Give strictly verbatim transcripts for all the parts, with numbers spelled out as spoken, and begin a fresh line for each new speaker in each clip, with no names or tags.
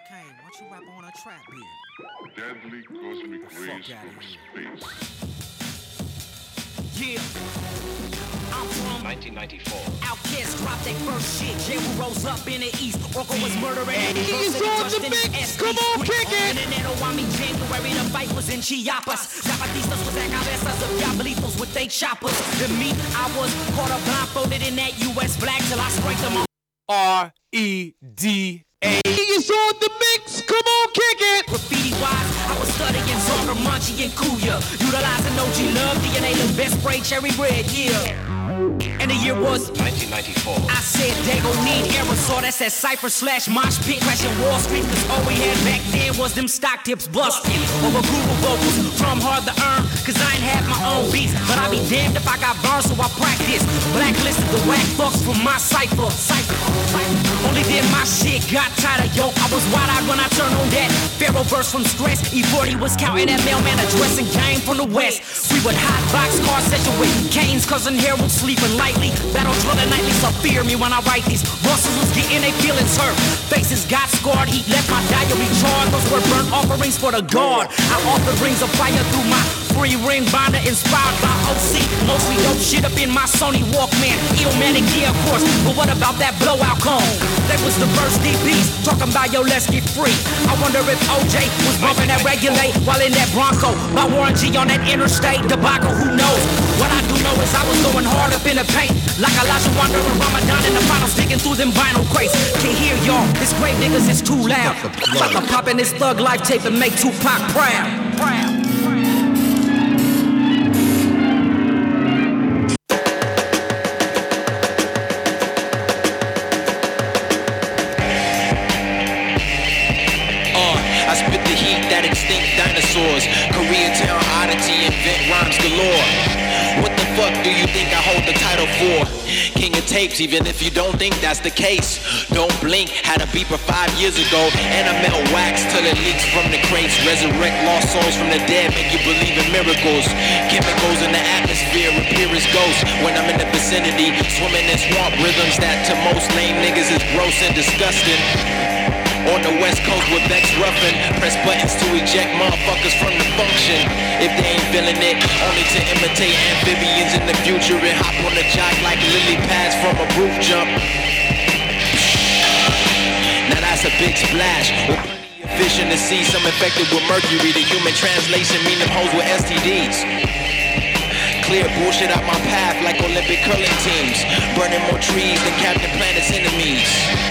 Kane, why don't you rap on a trap beat?
Deadly cosmic rays from space.
Yeah. I'm from
nineteen ninety-four.
Outkast dropped that first shit. J. rose up in the east. Orko was murdering.
He's on the mix. Come on, kick it.
En enero a mi January, the fight was in Chiapas. Zapatistas was at cabezas of diablitos with they choppers. To me, I was caught up blindfolded in that U S flag till I sprayed them on.
R E D A. He's on the mix. Come on, kick it.
Graffiti wise, I was studying Zonda, Munchie, and Kuya. Utilizing O G Love, D N A, the best spray cherry red, yeah. And the year was
nineteen ninety-four.
I said they gon' need aerosol. That's that Cypher slash Mosh Pit crashing Wall Street. Cause all we had back then was them stock tips busting. Over Google vocals from hard to earn. Cause I ain't had my own beats. But I be damned if I got burned, so I practice. Blacklisted the whack fucks from my Cypher. Cypher. Only then my shit got tighter, yo. I was wide-eyed when I turned on that Pharaoh verse from Stress. E forty was counting that mailman addressing game from the west. We would hot box car situate. Kane's cousin Harold sleeping lightly. Battle drilling nightly, so fear me when I write these. Bosses was getting their feelings hurt. Faces got scarred. He left my diary charred. Those were burnt offerings for the guard. I offered rings of fire through my free ring binder inspired by O C. Mostly dope shit up in my Sony Walkman. Illmatic gear, of course. But what about that blowout cone? That was the first D Bs talking about yo, let's get free. I wonder if O J was bumping that Regulate while in that Bronco. By Warren G on that interstate debacle, who knows? What I do know is I was going hard up in the paint. Like Elijah Wonder and Ramadan in the finals, digging through them vinyl crates. Can't hear y'all, this grave niggas is too loud. About to pop in this Thug Life tape and make Tupac proud. Proud.
Dinosaurs, Koreatown oddity, invent rhymes galore. What the fuck do you think I hold the title for? King of tapes, even if you don't think that's the case. Don't blink, had a beeper five years ago, and I melt wax till it leaks from the crates. Resurrect lost souls from the dead, make you believe in miracles. Chemicals in the atmosphere, appear as ghosts. When I'm in the vicinity, swimming in swamp rhythms that to most lame niggas is gross and disgusting. On the west coast with Vex Ruffin, press buttons to eject motherfuckers from the function. If they ain't feeling it, only to imitate amphibians in the future and hop on the jock like lily pads from a roof jump. Now that's a big splash. Fish in the sea, some infected with mercury. The human translation mean them hoes with S T Ds. Clear bullshit out my path like Olympic curling teams. Burning more trees than Captain Planet's enemies.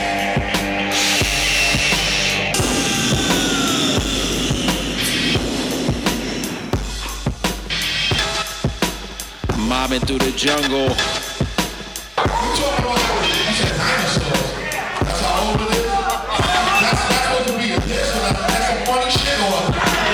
Mobbing through the jungle.
You talking about you said dinosaurs. That's how old it is. That's that's supposed to be a dish. That's some funny shit on.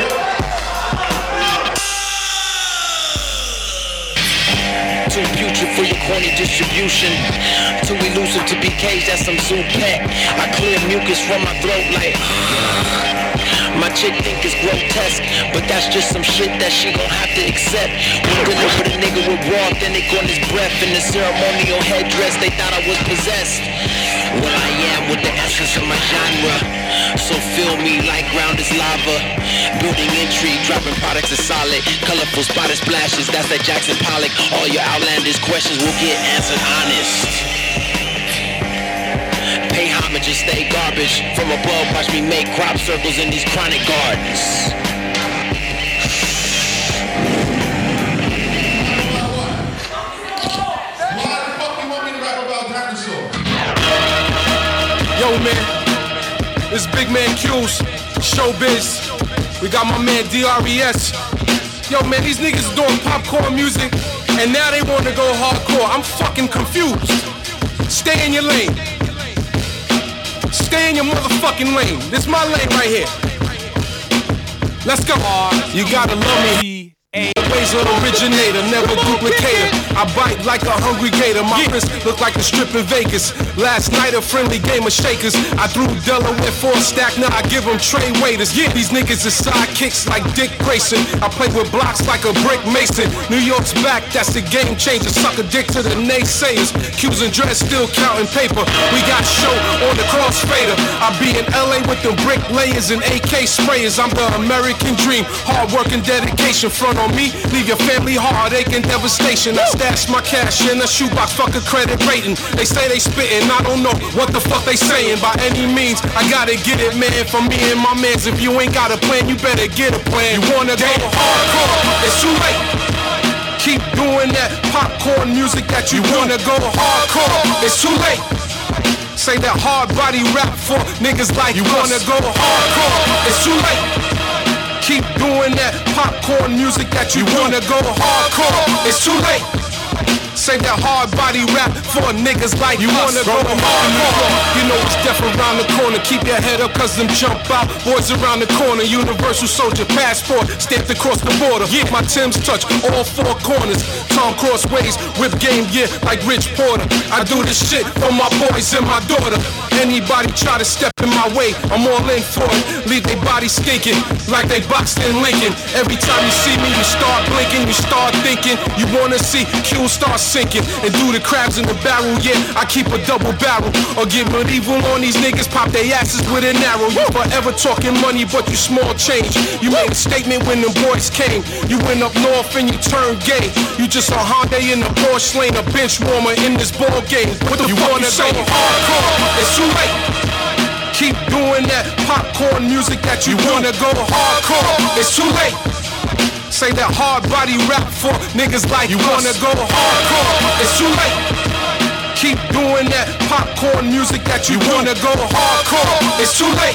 Too putrid for your corny distribution. Too elusive to be caged, that's some zoo pet. I clear mucus from my throat like my chick think it's grotesque, but that's just some shit that she gon' have to accept. We deliver the nigga with raw authentic on his breath. In the ceremonial headdress, they thought I was possessed. Well, I am with the essence of my genre. So fill me like ground is lava. Building intrigue, dropping products is solid. Colorful spotted splashes, that's that Jackson Pollock. All your outlandish questions will get answered honest. Pay homage and stay garbage. From above, watch me make crop circles in these chronic gardens.
Why the fuck you want me to rap about dinosaurs?
Yo, man, this Big Man Q's, Showbiz. We got my man D R E S. Yo, man, these niggas is doing popcorn music, and now they want to go hardcore. I'm fucking confused. Stay in your lane. Stay in your motherfucking lane. This is my lane right here. Let's go. You gotta love me. A. Ways of originator, never duplicator. I bite like a hungry gator. My wrist look like a strip in Vegas. Last night a friendly game of shakers. I threw Delaware for a stack, now I give them trade waiters. Yeah, these niggas are sidekicks like Dick Grayson. I play with blocks like a brick mason. New York's back, that's the game changer. Suck a dick to the naysayers. Q's and dreads still counting paper. We got show on the crossfader. I be in L A with the bricklayers and A K sprayers. I'm the American dream. Hard work and dedication. Front on me, leave your family heartache and devastation. I stash my cash in a shoebox, fuck a credit rating. They say they spittin', I don't know what the fuck they saying. By any means, I gotta get it, man. For me and my mans, if you ain't got a plan, you better get a plan. You wanna go hardcore, it's too late. Keep doing that popcorn music that you wanna go hardcore, it's too late. Say that hard body rap for niggas like you wanna go hardcore, it's too late. Keep doing that popcorn music that you wanna go hardcore, it's too late. Say that hard body rap for niggas like you wanna go hardcore. You know it's death around the corner. Keep your head up cause them jump out boys around the corner. Universal soldier passport stamped across the border. Yeah, my Tim's touch all four corners. Tom crossways, whip game, yeah, like Rich Porter. I do this shit for my boys and my daughter. Anybody try to step in my way, I'm all in for it. Leave they body stinking like they boxed in Lincoln. Every time you see me, you start blinking, you start thinking you wanna see Q start sinking and do the crabs in the barrel. Yeah, I keep a double barrel or get medieval on these niggas, pop their asses with an arrow. You forever talking money, but you small change. You made a statement when them boys came. You went up north and you turned gay. You just a Honda in a Porsche lane, a bench warmer in this ball game. What the you fuck wanna you go hardcore? It's too late. Keep doing that popcorn music that you wanna go hardcore. It's too late. Say that hard body rap for niggas like you wanna go hardcore. It's too late. Keep doing that popcorn music that you wanna go hardcore. It's too late.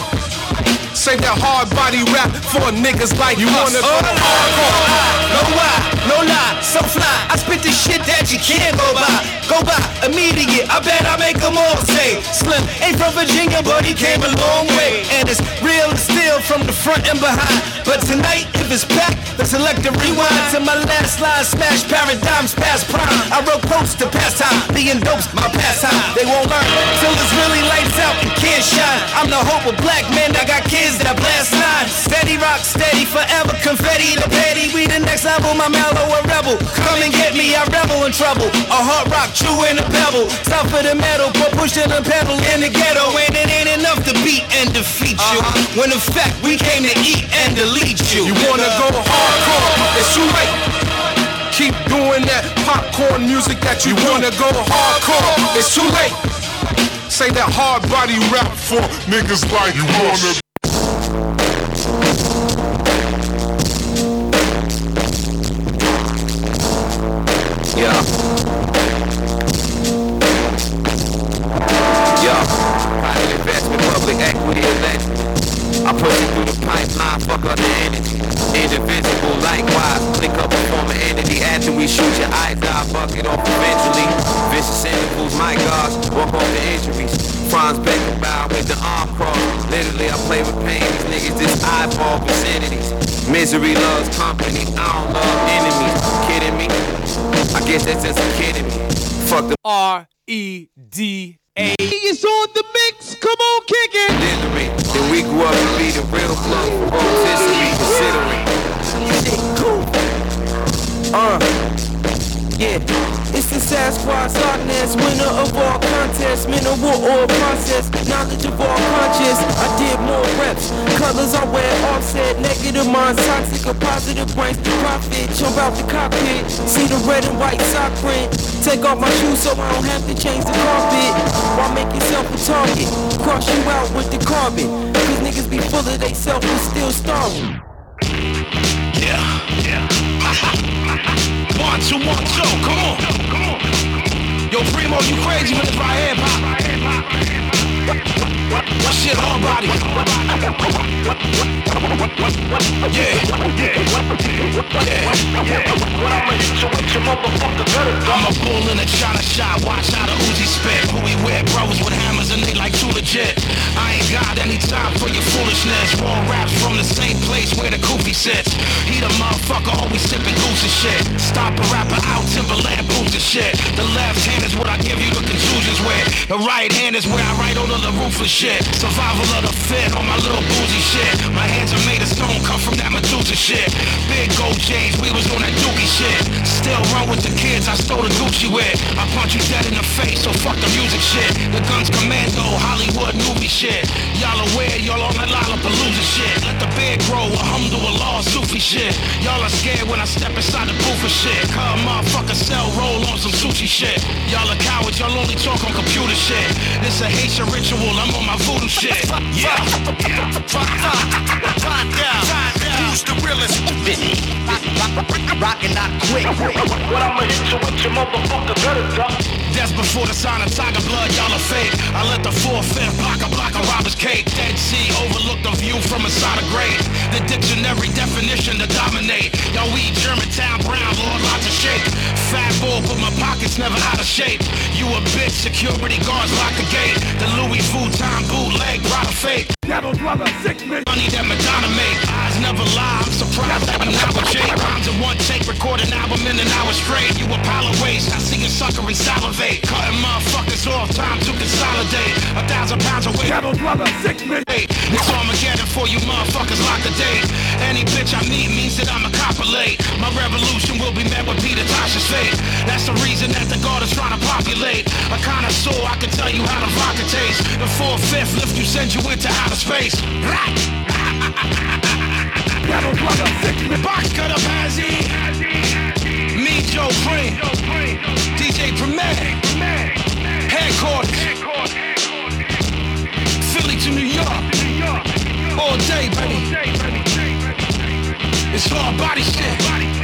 Say that hard body rap for niggas like you wanna go hardcore.
No lie, no lie, so fly. I spit the shit that you can't go by. Go by, immediate, I bet I make them all say Slim ain't from Virginia, but he came a long way. And it's real and still from the front and behind. But tonight, if it's packed, let's select a rewind to my last line, smash paradigms past prime. I wrote quotes to pass time, being dope's my pastime. They won't learn till it's really lights out and can't shine. I'm the hope of black men that got kids that blast nine. Steady rock, steady forever, confetti the petty. We the next level, my mellow a rebel. Come and get me, I rebel in trouble. A hard rock, true in a pebble. Stop for the metal, but pushing the pedal in the ghetto. And it ain't enough to beat and defeat you. Uh-huh. When in fact, we came to eat and delete you.
You wanna go hardcore, it's too late. Keep doing that popcorn music that you wanna go hardcore, it's too late. Say that hard body rap for niggas like you wanna.
Yeah. Yeah. Private investment, public equity, elect. I push it through the pipeline, fuck up the energy. Indivisible, likewise, link up and form an entity. After we shoot your eyes out, bucket off eventually. Vicious intervals, my gosh, walk off the injuries. Franz Beckenbauer with the arm cross. Literally, I play with pain. These niggas just eyeball vicinities. Misery loves company, I don't love enemies. Kidding me? I guess that's just a kidding me. Fuck the
R E D A.
It's on the mix, come on, kick it.
Delivery. Then we grew up to be the real plug. Rotisserie, considering. Shit, cool. Uh, yeah. It's the Sasquatch darkness, winner of all contests, mental or process, knowledge of all conscious. I did more reps, colors I wear offset, negative minds, toxic or positive brains, profit, jump out the cockpit, see the red and white sock print, take off my shoes so I don't have to change the carpet, why make yourself a target, cross you out with the carbon, cause niggas be full of they self and still starving.
Yeah, yeah. One, two, one, two, come on. Yo, Primo, you crazy when it's right hip hop. Shit, whole body. Yeah, I'm a bull in a China shop, watch how the Uzi spit. Who we with, brothers with hammers and they like too legit. I ain't got any time. time for your foolishness. Raw raps from the same place where the goofy sits. He the motherfucker always sipping goose and shit. Stomp a rapper out, Timberland boots and shit. The left hand is what I give you the contusions with. The right hand is where I write under the roof of shit. Survival of the fit on my little boozy shit. My hands are made of stone, come from that Medusa shit. Big gold chains, we was on that dookie shit. Still run with the kids I stole the Gucci with. I punch you dead in the face, so fuck the music shit. The guns commando, Hollywood movie shit. Y'all aware, y'all on that Lollapalooza shit. Let the beard grow, alhamdulillah, Sufi shit. Y'all are scared when I step inside the booth of shit. Cause motherfucker sell, roll on some sushi shit. Y'all are cowards, y'all only talk on computer shit. This a Haitian ritual, I'm on my voodoo shit. Yeah, yeah. Find out, who's the realest?
Rockin' not quick.
What I'ma hit you with your motherfucker better. That's before the sign of tiger blood, y'all are fake. I let the four-fifth block a block of robber's cake. Dead Sea overlook the view from inside a grave. The dictionary definition to dominate. Y'all we Germantown Brown, Lord lots of shake. Fat bull, but my pockets never out of shape. You a bitch, security guards lock the gate. The Louis Vuitton bootleg, brought a fake.
Devil's brother, sick me.
Money that Madonna made. Eyes never lie, I'm surprised that I'm not with Jay. Rhymes in one take, record an album in an hour straight. You a pile of waste, I see you sucker and salivate. Cutting motherfuckers off, time to consolidate. A thousand pounds away.
Devil's brother, sick me.
It's Armageddon for you motherfuckers, lock the date. Any bitch I meet means that I'm a copper late. My revolution will be met with Peter Tosh's fate. That's the reason that the guard is trying to populate. A connoisseur, I can tell you how the vodka tastes. The four-fifth lift you, send you into outer space.
Devil's brother, sick me.
Box cutter Bazzy. Me, Joe Green. D J Premier. Headquarters. Philly to New York. All day, baby. It's all body shit.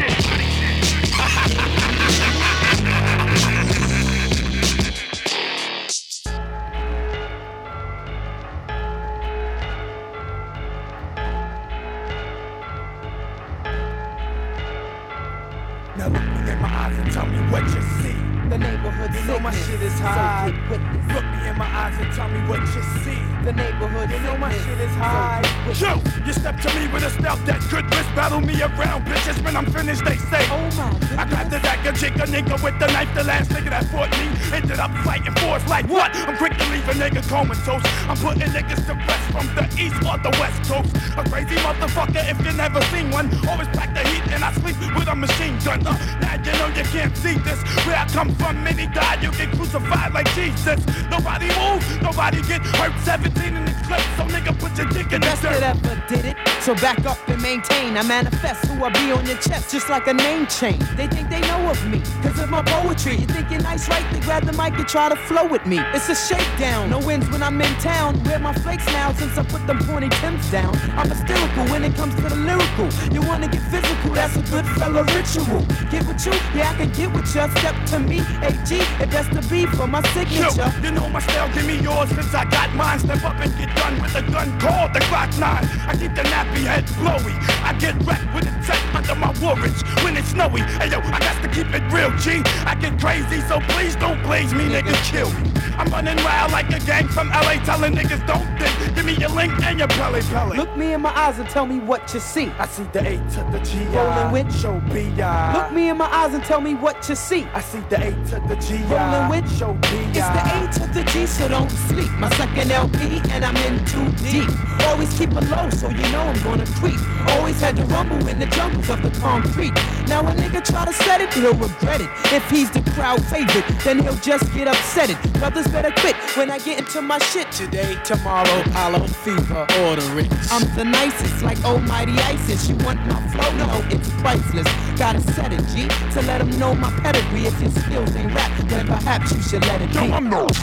Now look me in my eyes and tell me what you see.
The neighborhood
You know my shit is high.
So
look me in my eyes and tell me what you see.
The neighborhood
You know my shit is
So
high. Yo, you step to me with a stealth that could risk battle me around. Bitches, when I'm finished, they say,
Oh my goodness.
I got the dagger, jig a nigga with the knife. The last nigga that fought me ended up fighting for us like what? I'm quick to leave a nigga comatose. I'm putting niggas to rest from the east or the west coast. A crazy motherfucker if you never seen one. Always pack the heat and I sleep with a machine gun. Uh, now you know you can't see this. Where I come from, many died. You get crucified like Jesus. Nobody move, nobody get hurt. seventeen in the clip, so nigga put your dick in the
Best that
dirt.
ever did it. So back up and maintain. I manifest who I be on your chest, just like a name chain. They think they know of me, cause of my poetry. You think you're nice, right? They grab the mic and try to flow with me. It's a shakedown. No wins when I'm in town. Wear my flakes now since I put them pointy Timbs down. I'm hysterical when it comes to the lyrical. You wanna get physical, that's a good fella ritual. Get with you, yeah, I can get with ya. Step to me, A G, if that's the beat for my
Yo,
signature.
you know my style, give me yours since I got mine. Step up and get done with a gun called the Glock nine. I keep the nappy head blowy. I get wrecked with a tech under my woolrich when it's snowy. Hey yo, I got to keep it real, G. I get crazy, so please don't blaze me, nigga, kill me. I'm running wild like a gang from L A, telling niggas don't think. Give me your link and your belly belly.
Look me in my eyes and tell me what you see.
I see the A to the G.
Rolling with-
Show B I.
Look me in my eyes and tell me what you see.
I see the A to the G.
Rolling with-
Show B I.
It's the A to the G, so don't sleep. My second L P, and I'm in too deep. Always keep it low, so you know I'm gonna creep. Always had to rumble in the jungles of the concrete. Now a nigga try to set it, he'll regret it. If he's the crowd favorite, then he'll just get upset it. Brothers better quit when I get into my shit.
Today, tomorrow, Apollo fever, order it.
I'm the nicest, like almighty ISIS. You want my flow? No, it's priceless. Gotta set it, G, to let them know my pedigree. If your skills ain't rap, then perhaps you should let it be.
Yo, I'm no.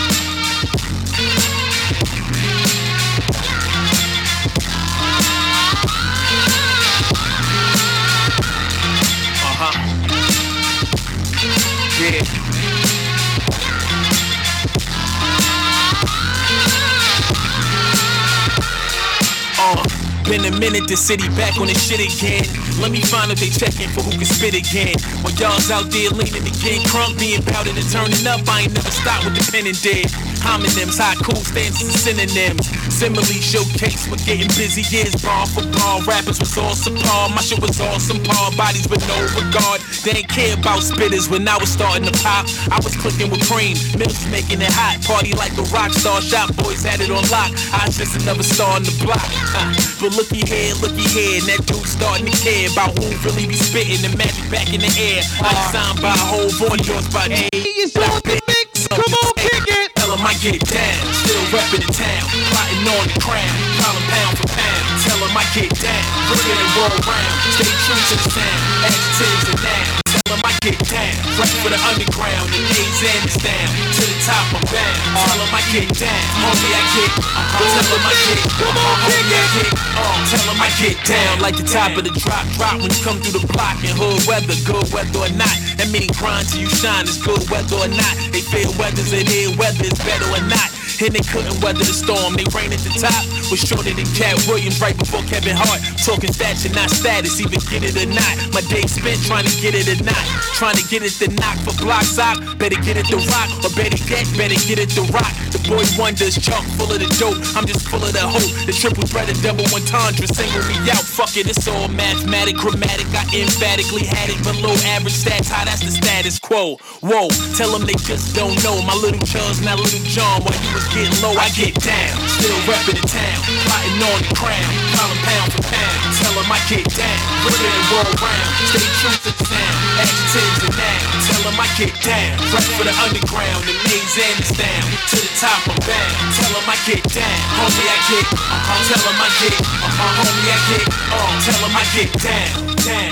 Uh-huh. Yeah.
Uh, been a minute, the city back on the shit again. Let me find if they checking for who can spit again. While y'all's out there leaning to get crunk, being powdered and turning up, I ain't never stopped with the pen and dead. Homonyms, haiku stands as synonyms. Simile showcase we're getting busy. Years bar for bar. Rappers was all subpar. My shit was awesome par. Bodies with no regard. They ain't care about spitters when I was starting to pop. I was clicking with cream. Mills making it hot. Party like a rock star. Shop boys had it on lock. I was just another star on the block. Uh, but looky here, looky here. And that dude starting to care about who really be spitting the magic back in the air. I signed by a whole boy, yours by A.
It's on the mix. Come on, kick it.
Tell him I get it down. Still reppin' the town. Plotting on the crown. Calling pound for pound. Tell him I get down. Bring it and roll around. Stay true to the sound. Adjectives and nouns. Tell him I get down. Right for the underground. The A's and it's down. To the top I'm bound. Tell him I get down. Homie I get. Uh-huh. Tell him I get. Come on, homie I get. Uh, tell him I get down. Like the top of the drop. Drop when you come through the block. And hood weather. Good weather or not. That mean grind till you shine. It's good weather or not. They feel weather's in here. Whether it's better or not. And they couldn't weather the storm. They reign at the top. Was shorter than Cat Williams right before Kevin Hart. Talking stature, not status. Either get it or not. My day spent trying to get it or not. Trying to get it to knock for block sock. Better get it to rock. Or better get, better get it to rock. The boy wonders, chalk full of the dope. I'm just full of the hope. The triple threat, the double entendre. Single me out. Fuck it, it's all mathematic, chromatic. I emphatically had it below average stats. How that's the status quo. Whoa, tell them they just don't know. My little Charles, not little John. While you was getting low, I get down. Still reppin' the town, plotting on the crown, calling pound for pound. Tell them I get down, bring it and roll around. Stay true to the sound, adjectives and nouns. Tell them I get down, right for the underground. The maze and it's down, to the top I'm bound. Tell them I get down, homie I get. Uh-huh. Tell them I get, uh-huh. Homie I get. Uh, tell them I get down, down.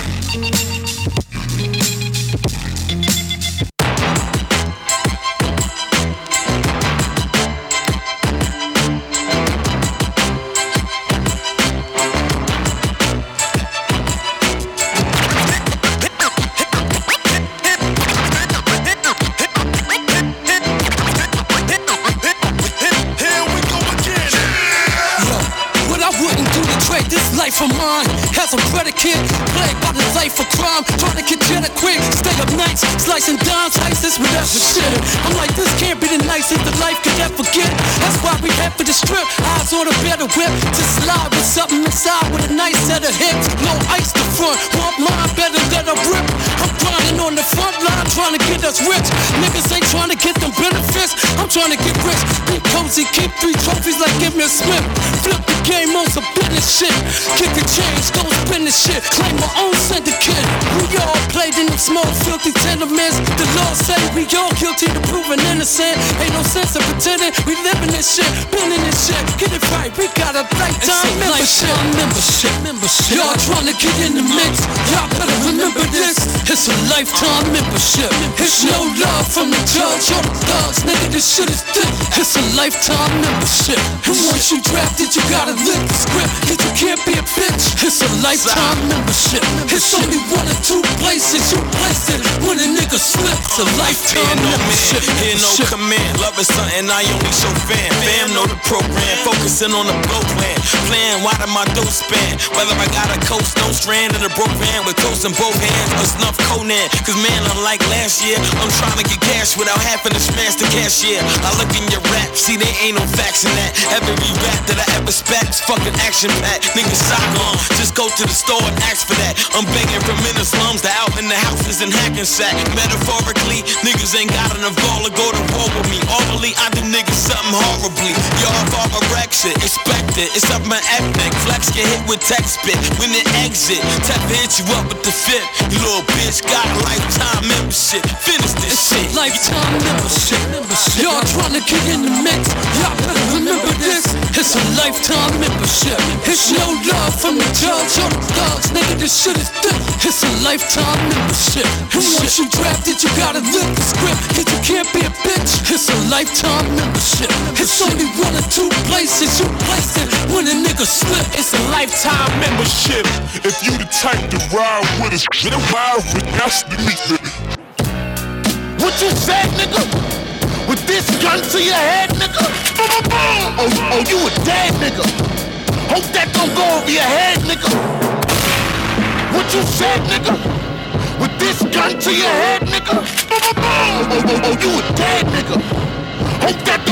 Life of mine has a predicate, plagued by the life of crime. Trying to get cheddar quick, stay up nights, slicing dimes, ISIS, whatever shit. I'm like, this can't be the nicest the life could ever get. That's why we head for the strip, eyes on a better whip. To slide with something inside with a nice set of hips. No ice to front, want mine, better let her rip. I'm grinding on the front line, trying to get us rich. Niggas ain't trying to get them benefits, I'm trying to get rich. Be cozy, keep three trophies like give me a Smith. Flip the game on some business shit. Kick the change, go spin the shit. Claim my own syndicate. We all played in them small, filthy tenements. The law say we all guilty to proving innocent. Ain't no sense of pretending we living this shit, been in this shit. Get it right, we got a lifetime membership. membership. membership. Y'all trying to get in the mix. Y'all better remember this. It's a lifetime membership. It's no love from the judge or the thugs. Nigga, this shit is thick. It's a lifetime membership. And once you drafted, you gotta live the script. Cause you can't be a bitch. It's a lifetime membership. It's only one or two places you place it when a nigga slips. A lifetime membership.
Hear no command. Love is something I only show fam. Fam know the program. Focusing on the blow plan. Plan wide of my dough span. Whether I got a coast, no strand in a broke van with toast in both hands or snuff Conan. Cause man, unlike last year, I'm trying to get cash without having to smash the cashier. I look in your rap, see there ain't no facts in that. Every rap that I ever spat is fucking action packed. Niggas sock on, just go to the store and ask for that. I'm begging from in the slums to out in the houses in Hackensack. Metaphorically, niggas ain't got enough ball to go to war with me. Orally, I do niggas something horribly. Y'all fall a wreck shit, expect it. It's up my ethnic. Flex get hit with text spit. When it exit, tap hit you up with the fit. You little bitch got a lifetime membership. Finish this shit.
Lifetime membership. membership. Y'all trying to get in the mix. Y'all better remember this. It's a lifetime membership. It's no love from the judge or the thugs. Nigga, this shit is thick. It's a lifetime membership. And once you drafted, you gotta live the script. Cause you can't be a bitch. It's a lifetime membership. It's only one or two places you place it when a nigga slip. It's a lifetime membership.
If you the type to ride with us, then ride with us to meet me.
What you said, nigga? With this gun to your head, nigga? Oh, oh, you a dead nigga. Hope that don't go over your head, nigga. What you said, nigga? With this gun to your head, nigga? Oh, oh, oh, oh, you a dead nigga. Hope that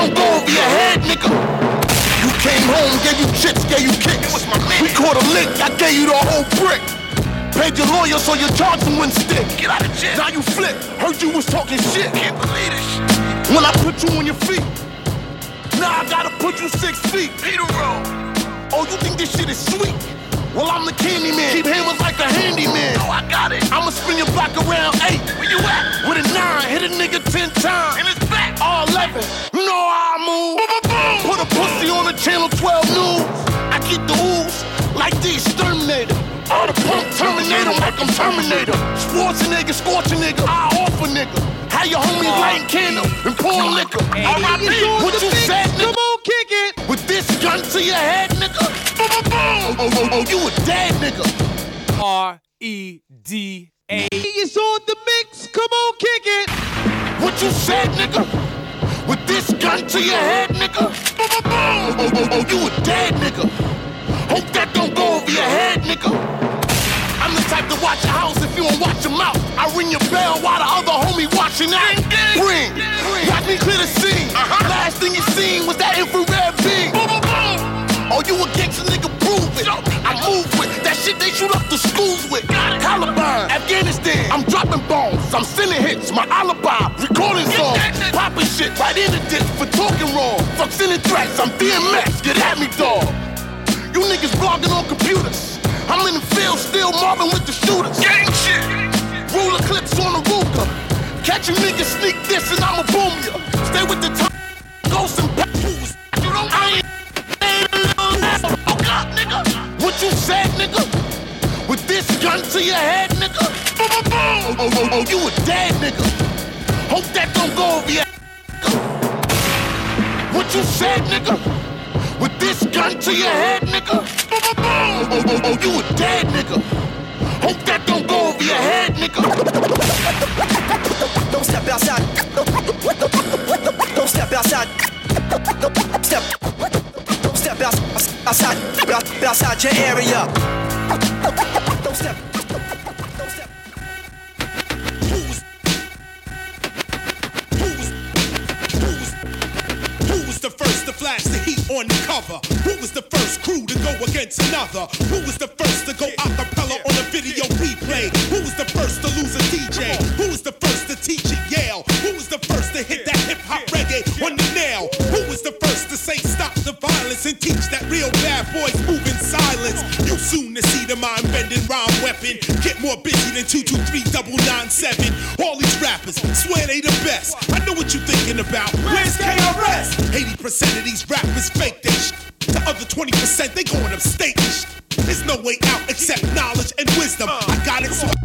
over your head, nigga. You came home, gave you chicks, gave you kicks. We caught a lick, I gave you the whole brick. Paid your lawyer so your charging wouldn't stick. Get out of jail. Now you flip. Heard you was talking shit. Can't believe this. When I put you on your feet, now I gotta put you six feet. Peter roll. Oh, you think this shit is sweet? Well, I'm the candy man. Keep hammers like a handyman. Oh, I got it. I'ma spin your block around eight. Where you at? With a nine. Hit a nigga ten times. In his back. All eleven. You know how I move. Boom, boom, boom. Put a pussy on the channel twelve news. I keep the ooze like the exterminator. All the punk Terminator like I'm Terminator. Schwarzenegger, scorching nigga. I offer nigga. How your homies lighting candle and pouring liquor. R I P What you said, nigga? Come on, kick it. With this gun to your head, nigga. Boom, boom, boom. Oh, oh, oh, you a dead nigga.
R E D A.
It's on the mix. Come on, kick it. What you said, nigga? With this gun to your head, nigga. Boom, boom, boom. Oh, oh, oh, you a dead nigga. Hope that don't go over your head, nigga. I'm the type to watch your house if you don't watch your mouth. I ring your bell while the other homie watching out. Ring, watch me clear the scene. Uh-huh. Last thing you seen was that infrared beam. Boom, boom, boom. Oh, you a gangster nigga, prove it. I move with that shit they shoot up the schools with. Columbine, Afghanistan. I'm dropping bombs, I'm sending hits. My alibi, recording songs, popping shit right in the ditch for talking wrong. Fuck sending threats, I'm D M X. Get at me, dog. You niggas blogging on computers. I'm in the field still mobbing with the shooters. Gang shit. Ruler clips on the Ruger. Catch you niggas sneak this and I'ma boom ya. Stay with the top. Ghosts and pools. You don't I ain't a little ass. Fuck up, nigga. What you said, nigga? With this gun to your head, nigga. Boom, boom, boom. Oh, oh, oh, you a dead nigga. Hope that don't go over your nigga. What you said, nigga? With this gun to your head, nigga. Boom, boom, boom. Oh, oh, oh, you a dead nigga. Hope that don't go over your head, nigga.
Don't step outside. Don't step outside. Don't step. Don't step outside. Outside. Outside your area. Don't step. Don't step.
Who's who's who's who was the first to flash the heat on the cover? Who was the first crew to go against another? Who was the first to go acapella on a video replay? Who was the first to lose a D J? Who was the first to teach at Yale? Who was the first to hit that hip hop reggae on the nail? Who was the first to say stop the violence and teach that real bad boys move in silence? You soon to see the mind bending rhyme weapon get more busy than two two three double nine seven. All these rappers swear they the best. I know what you thinking about. Where's K R S? eighty percent of these rappers fake they sh- The other twenty percent they going upstate and sh- There's no way out except knowledge and wisdom. I got it so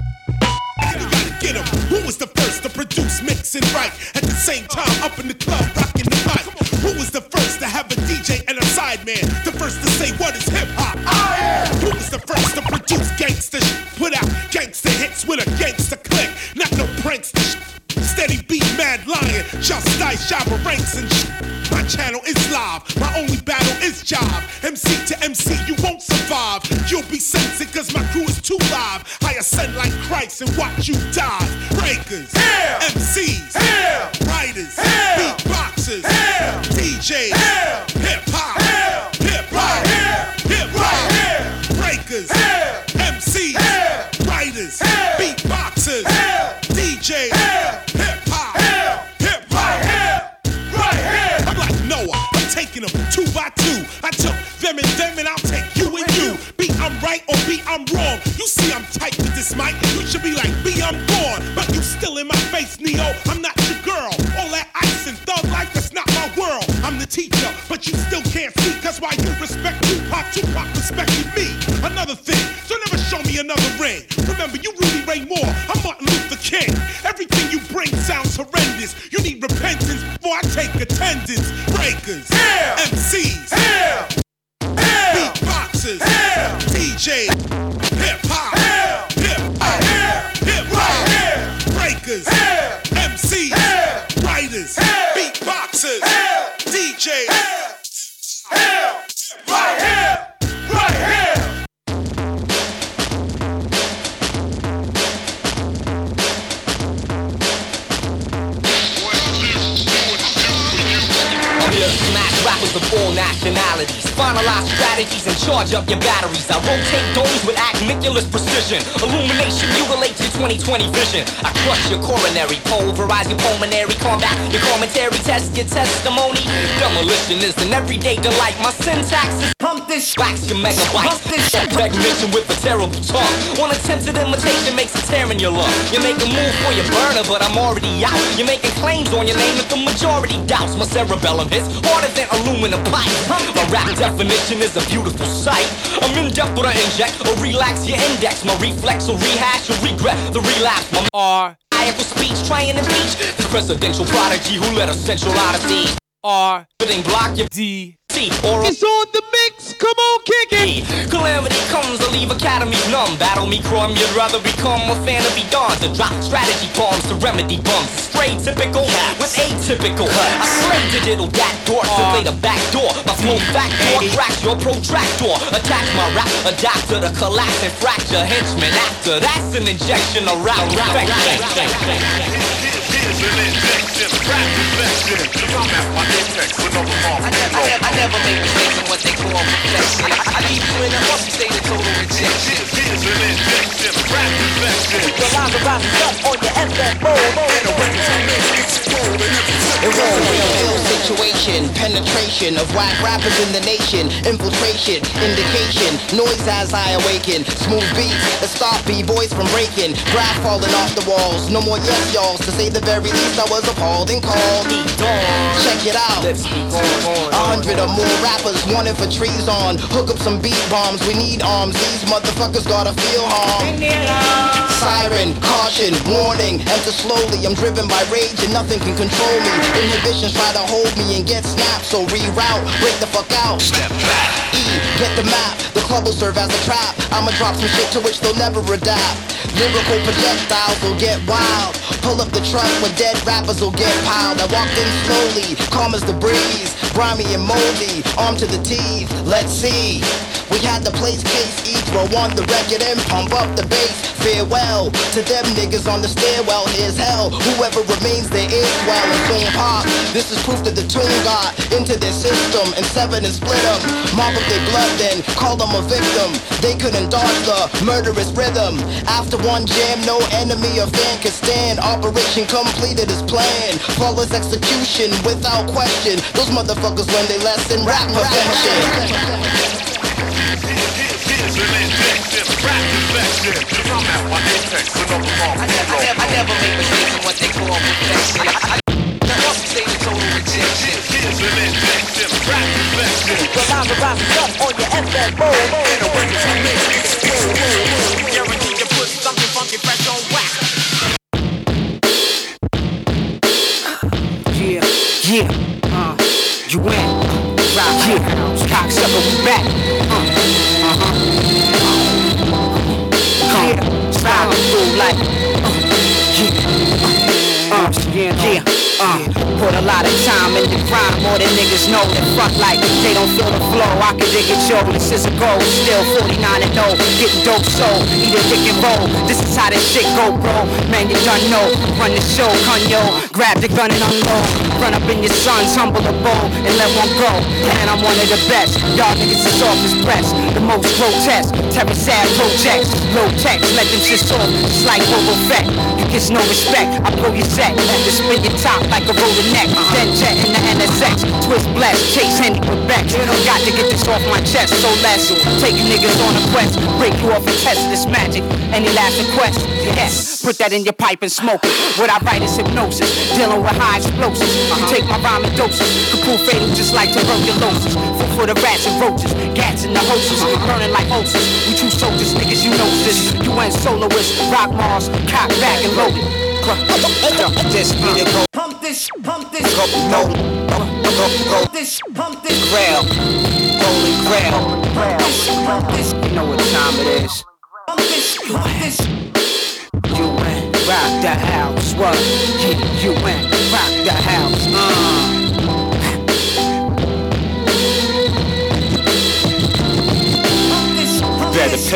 I you gotta get them. Who was the first to produce, mix and write at the same time up in the club rocking the mic? Who was the first to have a D J and a sideman? The first to say what is hip hop? I am. Who was the first to produce gangsta sh- Put out gangsta hits with a gangsta click. Not no prankster sh- Steady beat, mad lion, just dice, Jabba ranks and sh- My channel is live, my only battle is job. M C to M C, you won't survive. You'll be censored cause my crew is too live. I ascend like Christ and watch you die. Breakers, yeah. M Cs, yeah. Writers, yeah. Beatboxers, yeah. D Js, yeah. Hip hop, yeah. Hip hop, yeah. Hip hop, yeah. Breakers, yeah. M Cs, yeah. Writers, yeah. Beatboxers, yeah. D Js, yeah. Hip hop, yeah. Hip hop, yeah. Right here. I'm like Noah, I'm taking them two by two. I took them and them and I'll take you and you. B, I'm right or B, I'm wrong. You see I'm tight with this mic. You should be like B, I'm gone. But you still in my face, Neo. I'm not your girl. All that ice and thug life, that's not my world. I'm the teacher, but you still can't see. Cause why you respect Tupac, Tupac respected me. Another thing, so never show me another ring. Remember, you Rudy Ray Moore, I'm Martin Luther King. Everything you bring sounds horrendous. You need repentance before I take attendance. Breakers, yeah. M Cs, yeah. Yeah. Beatboxers, yeah. D Js, hip hop, yeah. Hip hop, yeah. Hip hop, yeah. Breakers, yeah. M Cs, yeah. Writers, yeah. Beatboxers, yeah. D Js, yeah. Yeah. Right here, right here.
Smash rappers of all nationalities. Finalize strategies and charge up your batteries. I rotate domes with acmiculous precision. Illumination mutilates your twenty twenty vision. I crush your coronary, pulverize your pulmonary, combat your commentary, test your testimony. Demolition is an everyday delight. My syntax is pump this, wax your megabytes. Pump this recognition with a terrible tongue. One attempted imitation makes a tear in your lung. You make a move for your burner, but I'm already out. You're making claims on your name that the majority doubts. My cerebellum hits harder than aluminum pipe. My rap definition is a beautiful sight. I'm in depth with an inject or relax your index. My reflex will rehash or regret the relapse. My R. I equal speech trying to reach the presidential prodigy who led a central odyssey. R. Fitting block your D. T. Or
it's on the mix. Come on, kick it.
Calamity comes to leave academies numb. Battle me crumb, you'd rather become a fan of be done. To drop strategy bombs to remedy bumps. Straight typical with atypical. I slay digital dat door, simply the back door. My flow backdoor cracks your protractor. Attack my rap, adapt to the collapse and fracture henchmen. After that's an injection of rap.
Here's an injection, rap infection. Come at my index with no remorse.
I never, I never, I never make mistakes in what they call perfection. I leave you in a musty state of total rejection.
Here's an injection, rap infection.
Your lines are rising up on your F F mode.
And the records on this explode in every
It was a real, real situation, penetration of whack rappers in the nation, infiltration, indication, noise as I awaken, smooth beats that stop b-boys from breaking, graph falling off the walls, no more yes y'alls, to say the very least I was appalled and called. Check it out, a hundred or more rappers wanted for trees on, hook up some beat bombs, we need arms, these motherfuckers gotta feel harm. Siren, caution, warning, enter slowly, I'm driven by rage and nothing can control me. Inhibitions try to hold me and get snapped, so reroute, break the fuck out.
Step back.
E, get the map, the club will serve as a trap. I'ma drop some shit to which they'll never adapt. Lyrical projectiles will get wild. Pull up the truck where dead rappers will get piled. I walked in slowly, calm as the breeze, grimy and moldy, armed to the teeth. Let's see. We had the place case each row on the record and pump up the bass. Farewell to them niggas on the stairwell. Here's hell. Whoever remains there is well and soon pop. This is proof that the tune got into their system and seven and split them. Mop up their blood then call them a victim. They couldn't dodge the murderous rhythm. After one jam, no enemy or fan could stand. Operation completed as planned. Flawless execution without question. Those motherfuckers learned their lesson. Rap perfection.
Here's an injection, rap infection. Come at my index with no remorse.
I never, I never, I never make mistakes in what they call perfection. I must say the total rejection.
Here's an injection, rap infection.
Your lines are rising up on your F F mode.
And the records on this explode.
Guaranteed to put something funky fresh on wax.
Yeah, yeah, uh, you win. Rock, yeah, cocksucker, we back. Uh, uh-huh. Come, yeah, slide through like, uh, yeah, uh, yeah, yeah. Uh, put a lot of time in the grind, more than niggas know that fuck like they don't feel the flow. I can dig it, yo, this is a goal. Still forty-nine and oh, getting dope soul, eat a dick and roll. This is how this shit go, bro. Man, you done know. Run the show, yo. Grab the gun and unload. Run up in your sons, humble the bow, and let one go. Man, I'm one of the best. Y'all niggas is off his breast. The most grotesque, terror sad projects. Low text, let them shit off, just like Boba Fett. You get no respect, I blow your set. And just spin your top like a roller neck. Then jet in the N S X. Twist blast, chase Henny with Bex. Got to get this off my chest, so let's take you niggas on a quest. Break you off and test this magic. Any last request? Yes. Put that in your pipe and smoke it. What I write is hypnosis. Dealing with high explosives. You take my rhyme and doses. Could prove fatal just like tuberculosis. Food for the rats and roaches. Gats in the hoses. Burning like ulcers. We true soldiers, niggas, you know this. You went soloist. Rock Mars. Cock back and loaded. Just be the go.
Pump this, pump this.
Go, no, go, go, go.
Pump this, pump this.
Grail, holy grail.
Pump this, pump this.
You know what time it is.
Pump this, pump this.
You went rock the house. What? Yeah, you went rock the house. Uh.
Pump this, pump
Better
this.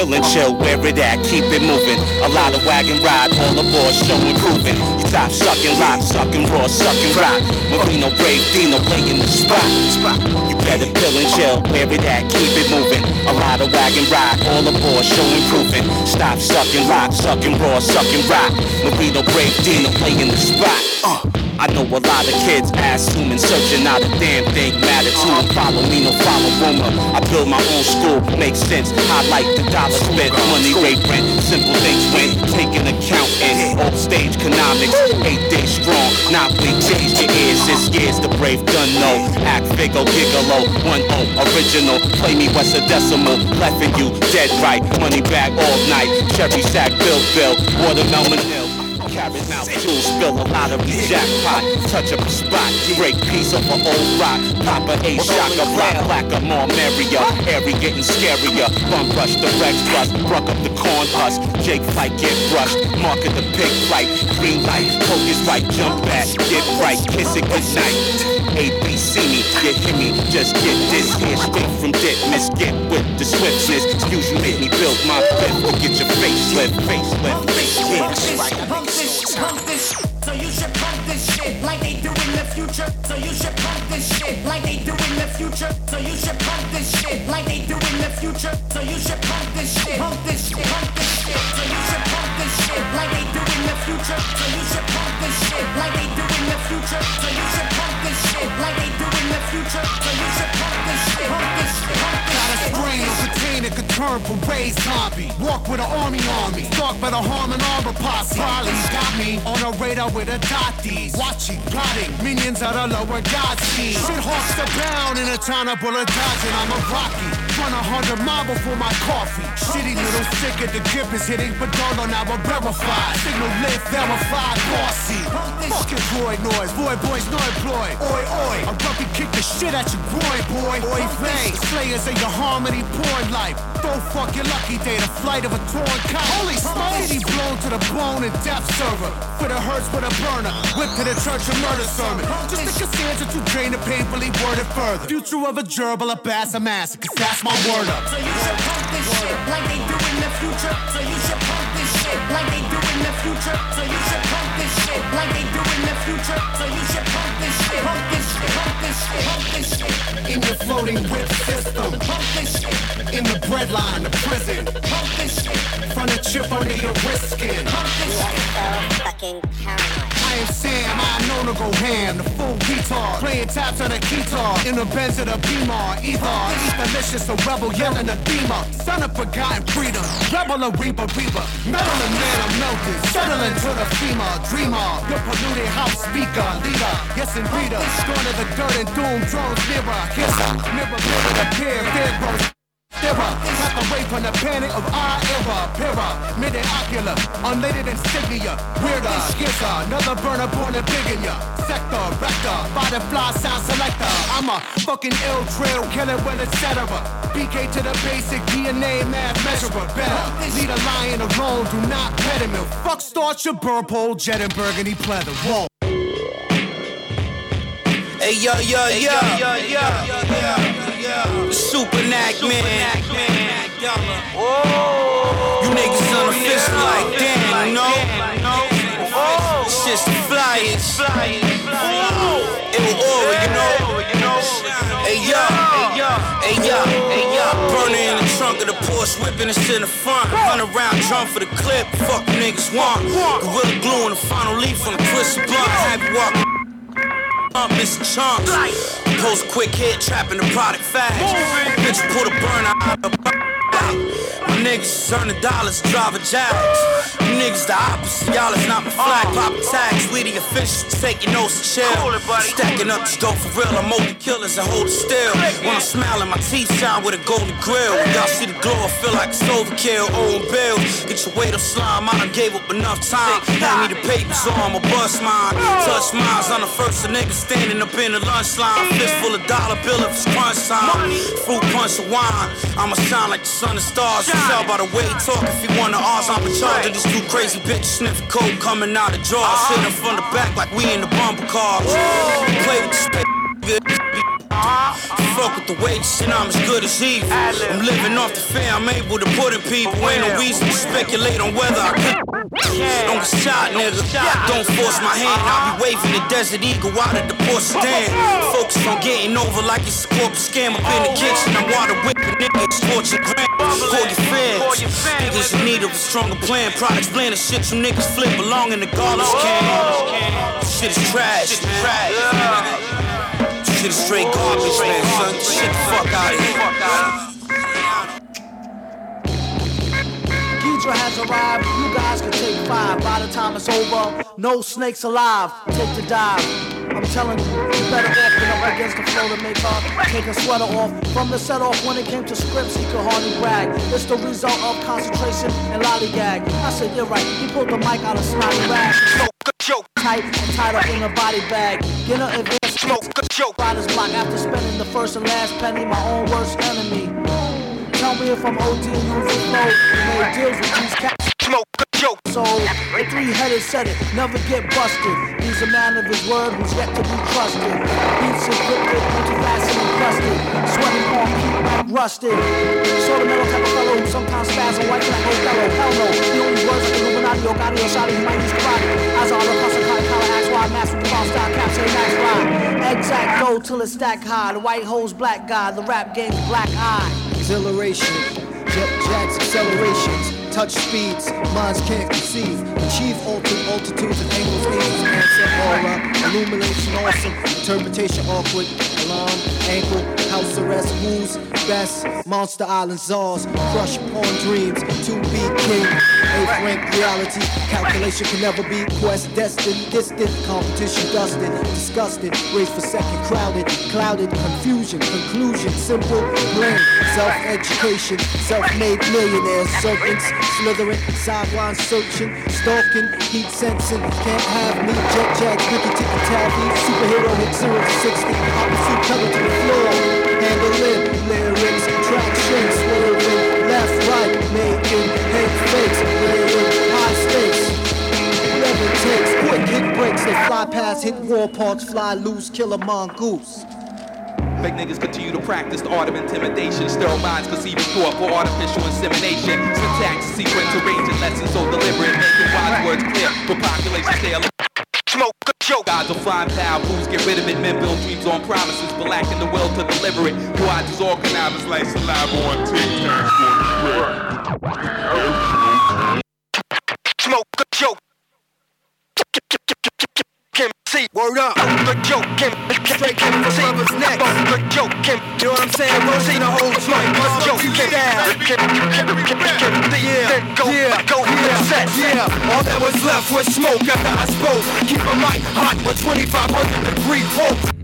pill and chill, where it at, keep it moving. A lot of wagon ride, all aboard, show improving. You stop sucking, rock, sucking raw, sucking rock. Marino, Brave, Dino, play in the spot. You better pill and chill, where it at, keep it moving. A lot of wagon ride, all aboard, show improving. Stop sucking, rock, sucking raw, sucking rock. Marino, Brave, Dino, play in the spot. Uh. I know a lot of kids assuming, searching out a damn thing matter to them. Follow me, no follow rumor. I build my own school, makes sense. Highlight the dollar spent, money rate rent, simple things went. Taking account in old stage economics. Eight days strong, not weak. Change your ears, this year's the brave done know. Act Figo, Gigolo, one oh original. Play me West a decimal, leffing you dead right. Money bag all night, cherry sack, bill bill, watermelon hill. Carrot mouth, jewels spill a lot of jackpot. Touch up a spot, break piece of an old rock. Papa A shocker, black, blacker, more merrier. Airy getting scarier. Bum rush, the Rex bust, bruck up the corn husk. Jake fight, get brushed. Market the pig flight. Green light, focus right, jump back, get right, kiss it goodnight. A B C me, you hear me, just get this here straight from dip. Miss get with the swiftness. Excuse you, make me build my fifth to get your face lift, face lift, face lift.
Pump this, pump this, so you should pump this shit like they do in the future. So you should pump this shit like they do in the future. So you should pump this shit like they do in the future. So you should pump this shit, pump this shit, pump this shit. So you should pump this shit like they do in the future. So you should pump this shit like they do in the future. So you should pump this shit like they do in the future. So you should pump this shit, pump this shit, pump this shit.
Got a sprain or container could turn parade zombie. Walk with an army on me. Stalked by the harm and armor posse. Polly's got me on a radar with a dotties. Watching, plotting, minions of the lower god scene. Shit hawks are down in a town of bullet dodging. I'm a Rocky. Run a hundred mile before my coffee. Shitty little sicker, the grip is hitting Padono, now I'm verified. Signal lit, verified, bossy. Fucking void noise, void boys no employed. Oi, oi, I rugby kick the shit at your groin, boy. Oi, play, slayers of your harmony porn life. Don't fuck your lucky day, the flight of a torn kite. Holy smoke, blown to the bone and death server. For the hurts with a burner, whip to the church and murder sermon. Just the Cassandra to drain the painfully worded further. Future of a gerbil, a bass, a mass, cause that's my word up.
So you should pump this shit like they do in the future. So you should pump this shit like they do in the future. So you should pump this shit like they do in the future. So you should pump this shit, pump this shit, pump this shit, pump this shit.
In your floating whip system,
pump this shit.
In the breadline, the prison,
pump this shit.
From the chip under your wrist skin,
pump this shit.
So fucking paranoid.
I am Sam, I'm known to go ham, the full retard. Playing taps on a guitar, in the Benz of the Beamer. Either, eat delicious, a rebel yelling a beamer. Son of forgotten freedom, rebel a reaper, reaper. Metal and man, I'm melted, settling to the femur. Dreamer, your polluted house speaker, leader. Yes, and reader, going to the dirt and doom, drones nearer. Kisser, mirror, mirror, appear, dead bros. Terror, cut away from the panic of our era. Pira, mid-ocular, unladed insignia. Weirder, skizzer, another burner born and big in ya. Sector, rector, body fly sound selector. I'm a fucking ill trail killer, well, et cetera. B K to the basic D N A math measurer. Better, lead a lion alone, do not pet him. Fuck start your burp hole, jet and burgundy pleather. Whoa.
Hey yo yo yo yo yo yo Super Knack man. You niggas unofficial like damn, you know. Shit's the flyest. It will aura, you know. Hey yo, hey yo, hey yo, hey yo. Burner in the trunk of the Porsche, whipping this in the front. Run around, drum for the clip. Fuck you niggas want. Gorilla glue in the final leaf on the twisted blunt. Have you walk. Uh, Mister Chunks, post quick hit, trapping the product fast. Bitch, pull the burner out of the my niggas earning dollars, drive a jazz. You niggas the opposite, y'all is not my flag. Pop tags, we the officials, take your nose to chill. Stacking up this dope for real, I'm multi killers and hold it still. When I'm smiling, my teeth shine with a golden grill. When y'all see the glow, I feel like it's overkill. Owen Bill, get your weight up slime, I done gave up enough time. Hand me the papers or I'ma bust mine. Touch mines, I'm the first of niggas standing up in the lunch line. Fist full of dollar bill if it's crunch time. Fruit punch of wine, I'ma shine like the sun and stars. You tell by the way he talk if he wanna ours. I'm in charge of these two crazy bitches sniffing coke coming out the drawers. Sitting from the back like we in the bumper car. Play with the spit, good. Fuck fuck with the wages and I'm as good as evil. I'm living off the fare I'm able to put in people. Ain't no reason to speculate on whether I could. Don't get shot, nigga. Don't force my hand. I'll be waving the Desert Eagle out at the port stand. Focus on getting over like it's a corporate scam up in the kitchen. I'm water whipping niggas, torching grams. Call your fans. Niggas in need of a stronger plan. Products blend the shit you niggas flip belong in the garbage can. Shit is trash, man. Shit is straight garbage, man, son. Shit the fuck out of here.
Ghidra has arrived, you guys can take five. By the time it's over, no snakes alive. Take the dive. I'm telling you, you better off than up against the floor to make her take her sweater off. From the set off when it came to scripts, he could hardly brag. It's the result of concentration and lollygag. I said, you're right, he pulled the mic out of snotty rag. Smoke, tight and tied up in a body bag. Get her advanced smoke, joke. Riders block after spending the first and last penny, my own worst enemy. Tell me if I'm O D and use the flow. You made deals with these cats. Smoke, joke. So, the three-headed said it, never get busted. He's a man of his word who's yet to be trusted. Beats encrypted, multi-faceted and crusted. Sweating on keep like rusted. Sort of metal type of fellow who sometimes spaz and white like Othello. Hell no, the only words like Illuminati or Gotti or Shotty, he might use karate. As all the custom collar collar axe wide mask with the ball style cap, say max ride. Exact go till it's stack high. The white hole's black guy, the rap game's black eye.
Exhilaration, jet jets, accelerations, touch speeds, minds can't conceive, achieve altered altitudes and angles, angels, answer, aura, illumination, awesome, interpretation, awkward, alarm, ankle, house arrest, who's best, monster island czars, crush upon dreams, to be king, eighth rank reality, calculation can never be quest, destined, distant, competition dusted, disgusted, race for second, crowded, clouded, confusion, conclusion, simple, blend, self-education, self-made millionaires, serpents, slithering, sidelines searching, stalking, heat sensing, can't have me, jet jags, Ricky Ticky Tavi, superhero hit zero to sixty, opposite cover to the floor, handling, lyrics, traction, swerving, left, right, making, head fakes, layering, high stakes, whatever it takes, quick hit breaks, they fly past, hit war parks, fly loose, kill a mongoose.
Fake niggas continue to practice the art of intimidation. Sterile minds conceiving thought for artificial insemination. Syntax, sequence, arranging lessons so deliberate, making wise words clear for population stay alive. Smoke, joke. Gods will find power, fools get rid of it. Men build dreams on promises, but lacking the will to deliver it. Watch is all connivers like saliva on TikTok.
Smoke, joke. Kim C, word up, the joke, Kim, straight Kim for lovers next, the joke, Kim, you know what I'm saying, Rosie, the whole smoke, the joke, Kim, Kim, Kim, Kim, Kim, yeah, go, go, set, yeah, all that was left was smoke after I spoke, keep a mic hot with twenty-five hundred degree volts.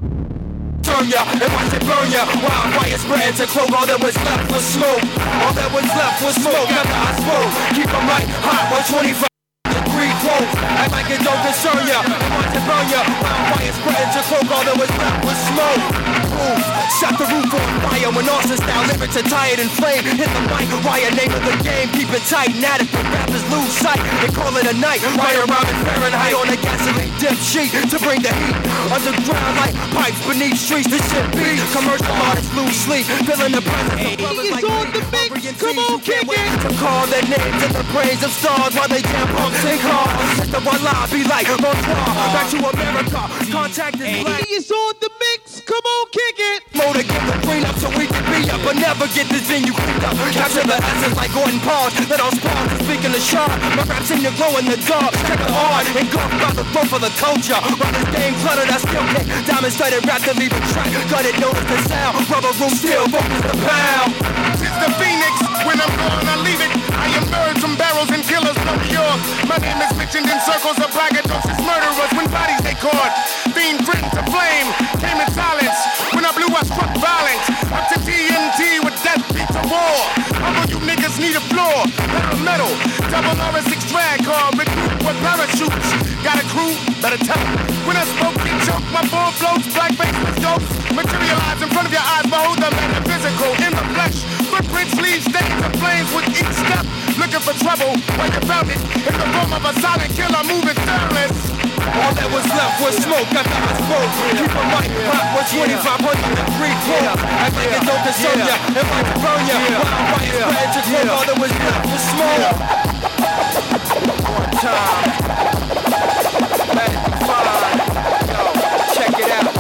Turn ya and watch it burn ya. Wildfire spread to close. All that was left was smoke. All that was left was smoke after I spoke. Keep a mic hot with twenty-five degree volts. Act like it don't concern ya. Watch it burn ya. Wildfire spread to close. All that was left was smoke. Boom. Set the roof on fire when Austin style lyrics are tired and flame. Hit the mic, riot, name of the game. Keep it tight and at it. The rappers lose sight and call it a night. Right around in Fahrenheit on a gasoline dip sheet to bring the heat. Underground like pipes beneath streets. This shit beat. Commercial artists lose sleep. Feeling the presence of brothers like on the mix. Come on, kick it. To call their names in the brains of stars while they jam pumps and cars. The one line be like bonsoir. Back to America. Contact is black.
It's on the mix. Come on, kick it.
More to get the green up so we can be up, but never get this venue cleaned up. Capture the essence like Gordon Paul. Let all spawns and speaking the sharp. My raps in the glow in the dark. Check it hard and go about the growth of the culture. Run this game cluttered, I still kick. Diamond studded rap to leave a track. Got it, notice the sound. Rubber room still focus the pound.
It's the Phoenix. When I'm gone, I leave it. I emerge from barrels and killers from New York. My name is mentioned in circles of braggadocious murderers when bodies they caught. Being written to flame, came in silence. When I blew, I struck violence. Up to T N T with death beats of war. Humble you niggas need a floor. Metal, metal, double R S six drag car, recruit with parachutes. Got a crew, better tell them. When I spoke, get choked, my ball floats, black face with jokes. Materialize in front of your eyes, behold the metaphysical in the flesh. Footprints leave stains of flames with each step. Looking for trouble, when you found it. In the form of a silent killer moving fearless.
All that was left was smoke after I spoke. Keep a mic hot with twenty-five hundred degree volts. Act like niggas don't concern ya. And might burn ya. While I'm right spread to grow all that was left was small. One time. Let it fine. Yo, check it out.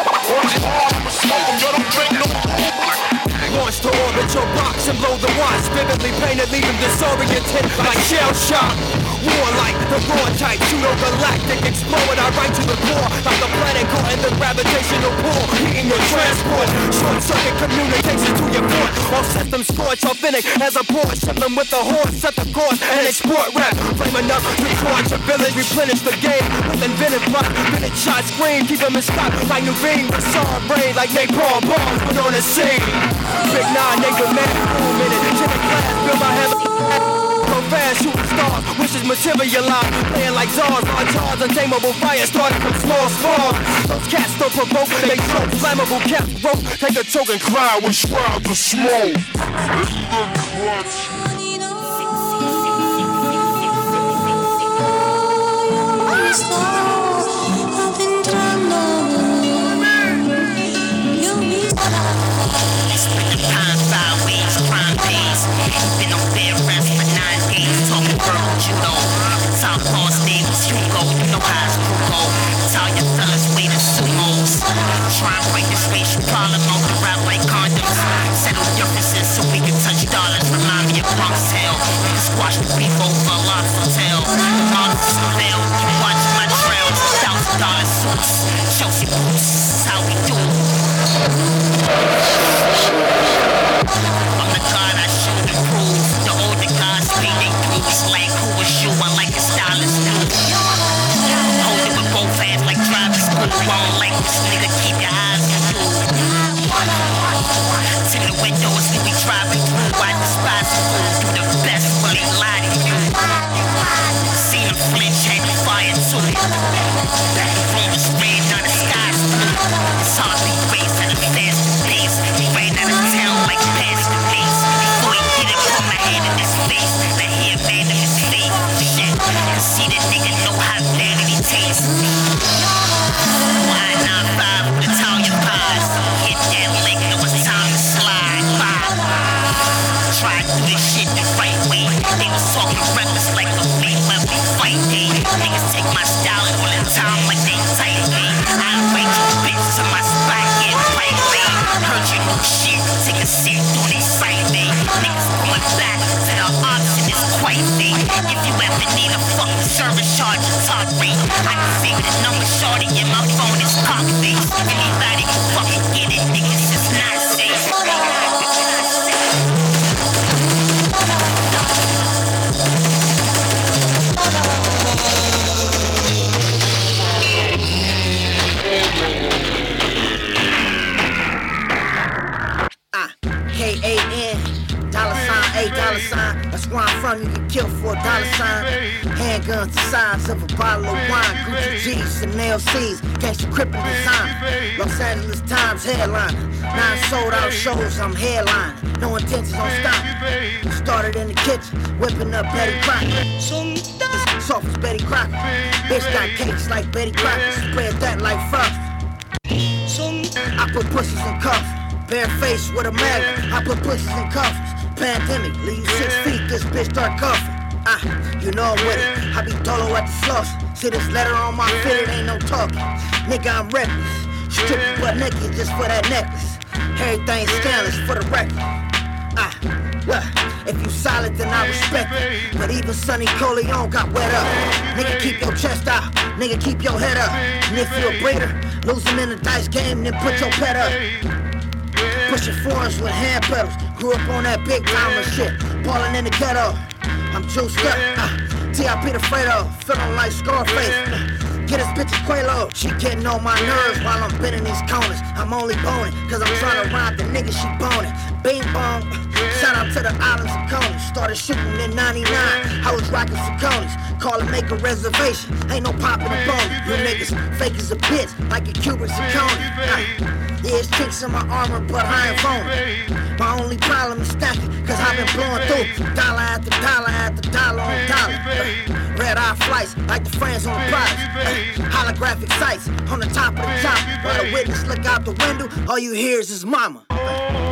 Launch to orbit your box and blow the watch. Vividly painted, leaving disoriented like shell shock. Warlike, the raw type, pseudo-galactic, explode I right to the core, like the planet caught in the gravitational pull, heating your transport, short-circuit communication to your port, all systems scorch, authentic as a port, ship them with the horse, set the course, and export rap, flame enough to torch your village, replenish the game, with inventive plot, minute shot screen, keep them in stock, like Nuveen, with song brain, like napalm bombs, put on the scene, Big Nine, nigga, man, cool minute, to the class, build my heaven. So fast, shooting stars, wishes materialize. Playing like Zars, on charge, untamable fire started from small spawns. Those cats don't provoke, they choke. Flammable caps broke, take a choke and cry with shrouds of smoke.
Been on bed rest for nine days, talking verbal judo. Southpaw stables, Hugo, you know how it's go. Italian fellas wait in sumos. Try and break this racial problem off the rap like condoms. Settle differences so we can touch dollars. Remind me of Bronx Hell. We can squash the beef over a lot of tail. The models is fail. You watch my trails. Thousand dollar suits. Chelsea boots. This is how we do. I'm the god I should improve. The older guys speak they groups like who was you? I like the stylist new. Hold it with both hands like driving school. I don't like this nigga, keep your eyes on you. Tint the windows, we be driving through. I despise the fool, do the best when they lie to you. See them flinch, had the fire too. The room is red, now the sky's blue. It's hardly race at a fast pace. He ran out of town like past the base. Before he hit it, put my hand in his face. Now he abandoned his faith. Shit, and see the nigga know how vanity tastes. Why not five with Italian pies? Hit that lick, it was time to slide by. Try to do this shit the right way. They was talking reckless like a fake when we fight day. Niggas take my style and all the time like they tight game. I invite you bitch to my spot, get right lane. Heard you new shit, take a sip on they site day. Niggas going back to the odds in this quite thing. If you ever need a fucking service charge and talk rate, I can figure the number shorty in my phone is cock face. Anybody can fucking get it, niggas is not safe.
K A N, dollar sign, A dollar sign. That's where I'm from, you get killed for a dollar sign. Handguns the size of a bottle of wine. Gucci G's, Chanel C's, gangsta crippin' design. Los Angeles Times headliner. Nine sold out shows, I'm headlining. No intentions on stopping. Started in the kitchen, whipping up Betty Crocker. Soft as Betty Crocker. Bitch got cakes like Betty Crocker. Spread that like frost. I put pussies in cuffs. Bare face with a magnet, I put pussies in cuffs. Pandemic, leave you six feet, this bitch start cuffing. Ah, you know I'm with it, I be dolo at the floss. See this letter on my fit, it ain't no talking. Nigga, I'm reckless, stripping butt naked just for that necklace. Everything scandalous for the record. Ah, look, if you solid then I respect it. But even Sonny Corleone got wet up. Nigga, keep your chest out, nigga, keep your head up. And if you a breeder, losing in the dice game, then put your pet up. Pushing foreigns with hand pedals. Grew up on that big timer shit. Ballin' in the ghetto. I'm juiced up. Uh, T I P the Fredo. Feeling like Scarface. Uh, get this bitch a Quelo. She getting on my nerves while I'm bending these corners. I'm only boning, cause I'm trying to ride the nigga she boning. Bing bong. Shout out to the islands of Coney. Started shooting in ninety-nine. I was rocking Saucony's. Call and make a reservation. Ain't no poppin' a bone. You niggas fake as a bitch, like a Cuban Saucony. Uh, Yeah, it's tricks in my armor, but I ain't phony. My only problem is stacking, cause I've been blowing through dollar after dollar after dollar on dollar. Uh, red eye flights, like the friends on the prize. Uh, holographic sights on the top of the top. While the witness look out the window, all you hear is his mama. Uh,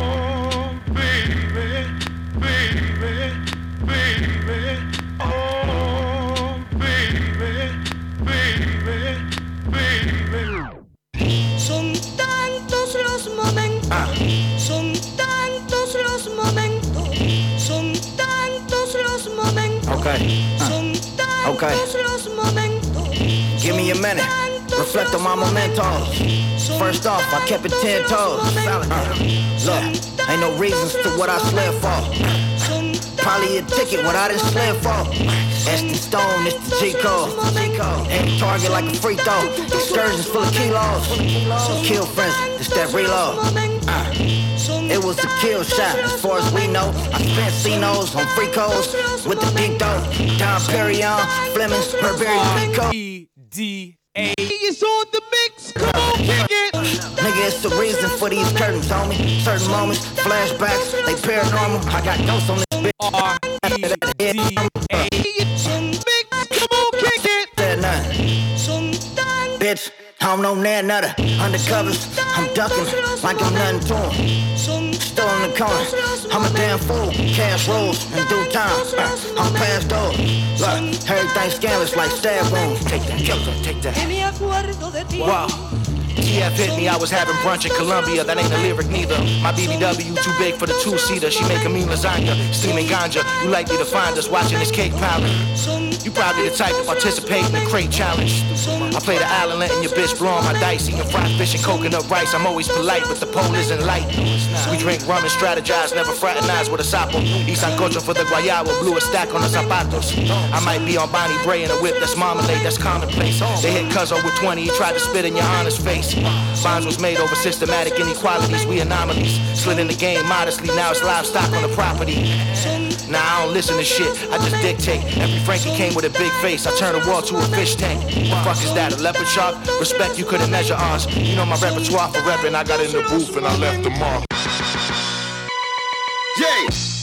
Son tantos los momentos, son tantos los momentos,
Okay.
son tantos
Okay.
los momentos.
Give me a minute. Reflect on my mementos. First off, I kept it ten toes. Solid. Uh, look, ain't no reasons to what I slid for. Probably a ticket what I done slid for. That's the stone, it's the G code. Ain't target like a free throw. Excursions full of kilos. Kill friends, it's that reload. Uh, it was a kill shot, as far as we know. I spent C-Nos on free codes with the big dough. Don Perignon, Flemings, Burberry, Pico.
E D A.
It's on the mix, come on, kick it. Nigga, it's the reason for these curtains, homie. Certain moments, flashbacks, they paranormal. I got ghosts on this bitch.
R E D A.
Come on, kick it. Said nothing. Bitch, I don't know nan nutter. Undercovers, I'm ducking like I'm nothing to him. Still in the corner, I'm a damn fool. Cash rolls in due time. Uh, I'm past those. Look, everything scandalous like stab wounds. Take that, killer, take that.
Wow. T F hit me, I was having brunch in Colombia. That ain't a lyric neither. My B B W too big for the two-seater. She make a mean lasagna, steaming ganja. You likely to find us watching this cake powder. You probably the type to participate in the crate challenge. I play the island, letting your bitch blow on my dice. Eating fried fish and coconut rice. I'm always polite, but the pole isn't light. We drink rum and strategize, never fraternize with a sapo. Eat sancocho for the guayaba, blew a stack on the zapatos. I might be on Bonnie Bray in a whip that's marmalade, that's commonplace. They hit Cuzzo with twenty, he tried to spit in your honest face. Bonds was made over systematic inequalities, we anomalies. Slid in the game modestly, now it's livestock on the property. Nah, I don't listen to shit, I just dictate. Every Frankie came with a big face, I turn a wall to a fish tank. What the fuck is that, a leopard shark? Respect, you couldn't measure ours. You know my repertoire for reppin', I got in the booth and I left the mark.
Yay!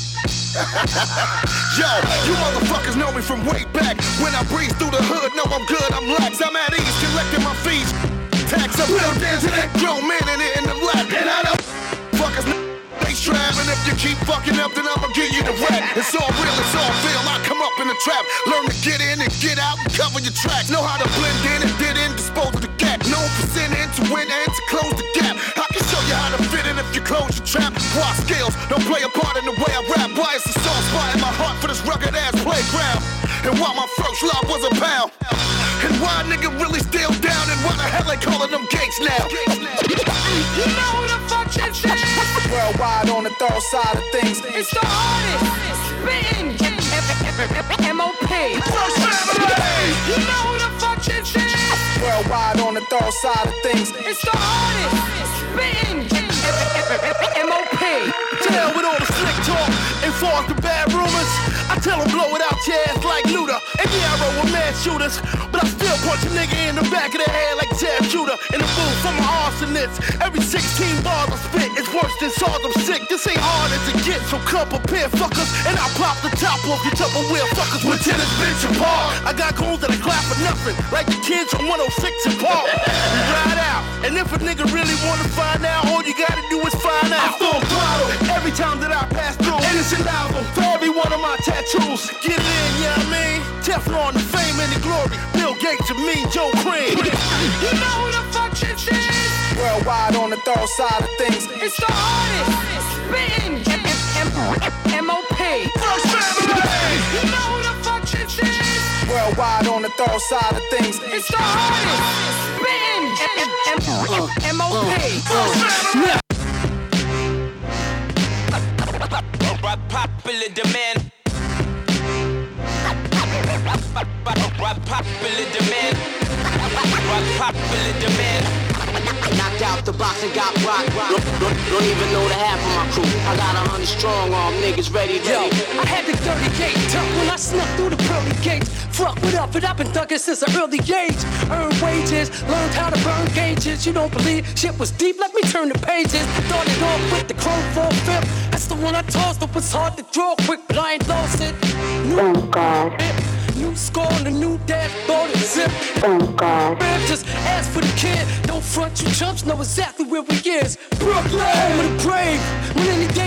Yo, you motherfuckers know me from way back. When I breeze through the hood, know I'm good, I'm lax. I'm at ease, collecting my fees. Tax up, little dance to that grown man in it in the lap. And I don't fuckers, they strap. And if you keep fucking up, then I'ma give you the rap. It's all real, it's all real. I come up in the trap, learn to get in and get out and cover your tracks. Know how to blend in and did in, dispose of the gap. Known for sinning to win and to close the gap. I can show you how to fit in if you close your trap. Why scales don't play a part in the way I rap. Why it's a soft spot in my heart for this rugged ass playground. And why my first love was a pound. And why a nigga really still down. And why the hell they calling them gates now.
You know who the fuck this is?
Worldwide on the thorough side of things.
It's the artist, spitting, M O P.
First family.
You know who the fuck this is?
Worldwide on the thorough side of things.
It's the artist, spitting, M O P.
Tell with all the slick talk and far as the bad rumors. I tell them blow it out your ass like Luda. And yeah, I roll with mad shooters, but I still punch a nigga in the back of the head like Ted Shooter. In the booth from my arsonists. Every sixteen bars I spit is worse than SARS, I'm sick. This ain't hard as it gets, so come prepare fuckers. And I pop the top off your Tupperware fuckers with tennis bench apart. I got goons that I clap for nothing, like the kids from one oh six and Park. We ride out, and if a nigga really wanna find out, all you gotta do is find out. I full throttle every time that I pass through. And it's an album for every one of my tattoos. Get it in, you know what I mean? Teflon, the fame and the glory. Bill Gates and me, Joe Cream.
You know who the fuck this is?
Worldwide on the thorough side of things.
It's the artist, spitting, M O P.
First family.
You know who the fuck this is?
Worldwide on the thorough side of things.
It's the artist, spitting, M O P.
First family.
Popular demand. Popular demand. Popular demand.
Knocked out the box and got rock, rock. Don't, don't, don't even know the half of my crew. I got a hundred strong arm niggas ready, ready.
Yo, I had the dirty gate tucked when I snuck through the pearly gates. Fuck what up, and I've been thugging since an early age. Earned wages, learned how to burn gauges. You don't believe shit was deep? Let me turn the pages. Started off with the Chrome four fifth. That's the one I tossed, it was hard to draw quick, but I ain't lost it. New oh God. New score on the new dashboard and zip.
Oh God.
Just ask for the kid. Don't front, you chumps know exactly where we is. Brooklyn, home of the brave. When any day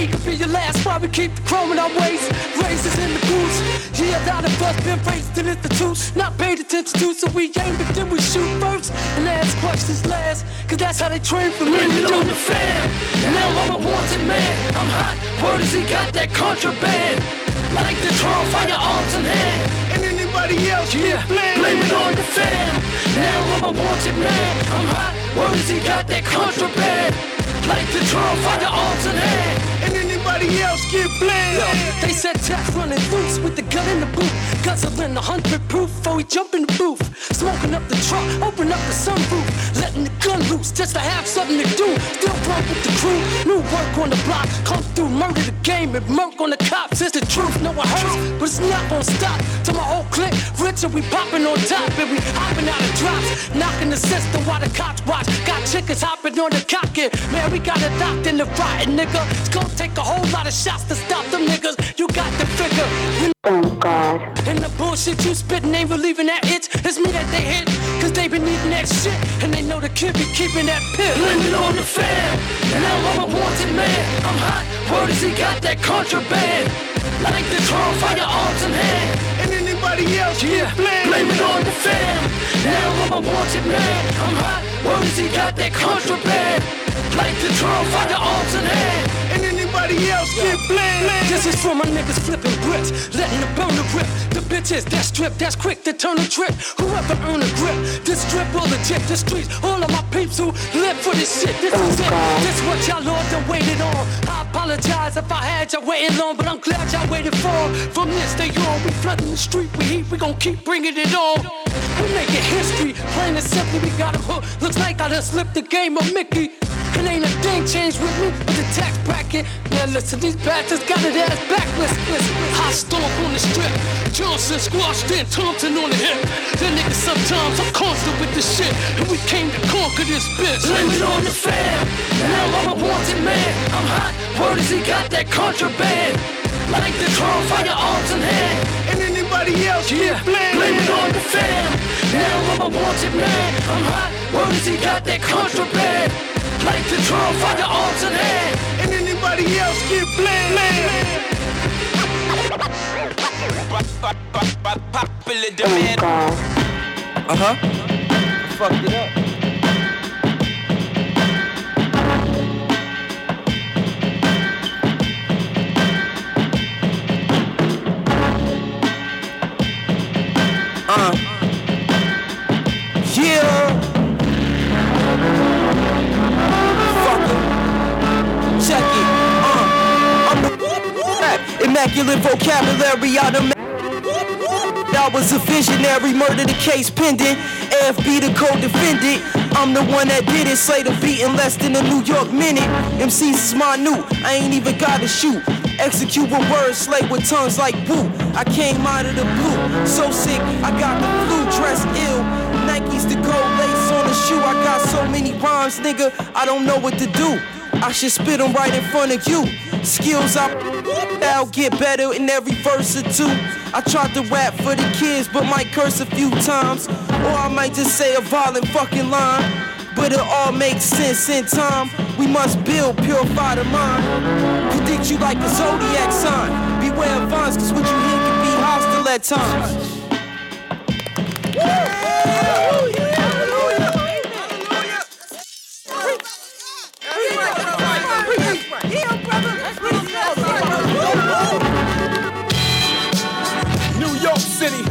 could be your last. Why we keep the chrome in our waist? Razors in the boots. Yeah, a lot of us been raised in institutes, not paid attention to, so we aim but then we shoot first and ask questions last. Cause that's how they train for me.
On the fan. Now I'm a wanted man. I'm hot. Word is he got that contraband. Like the Trump, firearms in hand. And anybody else, yeah, blame, blame it on the fan. Now I'm a wanted man. I'm hot. Word is he got that contraband. Like the Trump, firearms in hand. And anybody else get blamed.
They said Jack's running loose with the gun in the boot. Guzzling a hundred proof before he jump in the booth. Smoking up the truck, open up the sunroof. Letting the gun loose just to have something to do. Still broke with the crew, new work on the block. Come through, murder the game and murk on the cops. It's the truth, no it hurts, but it's not gonna stop. To my whole clique, rich and we popping on top. And we hopping out of drops, knocking the system while the cops watch. Got chickens hopping on the cockpit. Man, we got it locked in the rotten, nigga. It's gonna take a whole lot of shots to stop them niggas. You got the figure. You oh God. And the bullshit you spittin' ain't relieving that itch. It's me that they hit, cause they been eating that shit. And they know the kid be keeping that pit.
Blame it on the fan. Now I'm a wanted man. I'm hot. Word is he got that contraband. Like the Trump, firearms in hand. And anybody else, yeah, blame, blame it on the fan. Now I'm a wanted man. I'm hot. Word is he got that contraband. Like the Trump, firearms in hand. And anybody else get blamed.
This is for my niggas flipping bricks, letting the burner rip. The bitches that strip, that's quick to turn a trip. Whoever earn a grip, this strip will legit. The streets, all of my peeps who live for this shit. This is it, this what y'all all done waited on. I apologize if I had y'all waiting long, but I'm glad y'all waited for. From this day on, we flooding the street, we heat, we gon' keep bringing it on. We making history, plain and simply, we got 'em hooked. Looks like I done slipped the game of Mickey. And ain't a thing changed with me but the tax bracket. Now listen, these bastards got it ass back. Listen, listen. High stomp on the strip. Johnson squashed in, Thompson on the hip. Then niggas sometimes I'm constant with this shit. And we came to conquer this bitch.
Blame it on the fam. Now I'm a wanted man. I'm hot. Word is he got that contraband. Like the Trump, firearms in hand. And anybody else, yeah, blame, blame it on the fam. Now I'm a wanted man. I'm hot. Word is he got that contraband. Like the Trump, firearms in hand. And anybody else get blamed.
Popular demand.
Uh-huh. I fucked it up. Uh. Yeah. Check it, uh, I'm the immaculate vocabulary out of I was a visionary, murder the case pending. A F B the co-defendant. I'm the one that did it, slay the beat in less than a New York minute. M Cs is minute, I ain't even gotta shoot. Execute with words, slay with tongues like woo. I came out of the blue, so sick, I got the flu, dressed ill. Nikes the gold lace on the shoe. I got so many rhymes, nigga, I don't know what to do. I should spit them right in front of you. Skills I I'll get better in every verse or two. I tried to rap for the kids, but might curse a few times. Or I might just say a violent fucking line. But it all makes sense in time. We must build, purify the mind. Predict you like a zodiac sign. Beware of vines, cause what you hear can be hostile at times.
New York City.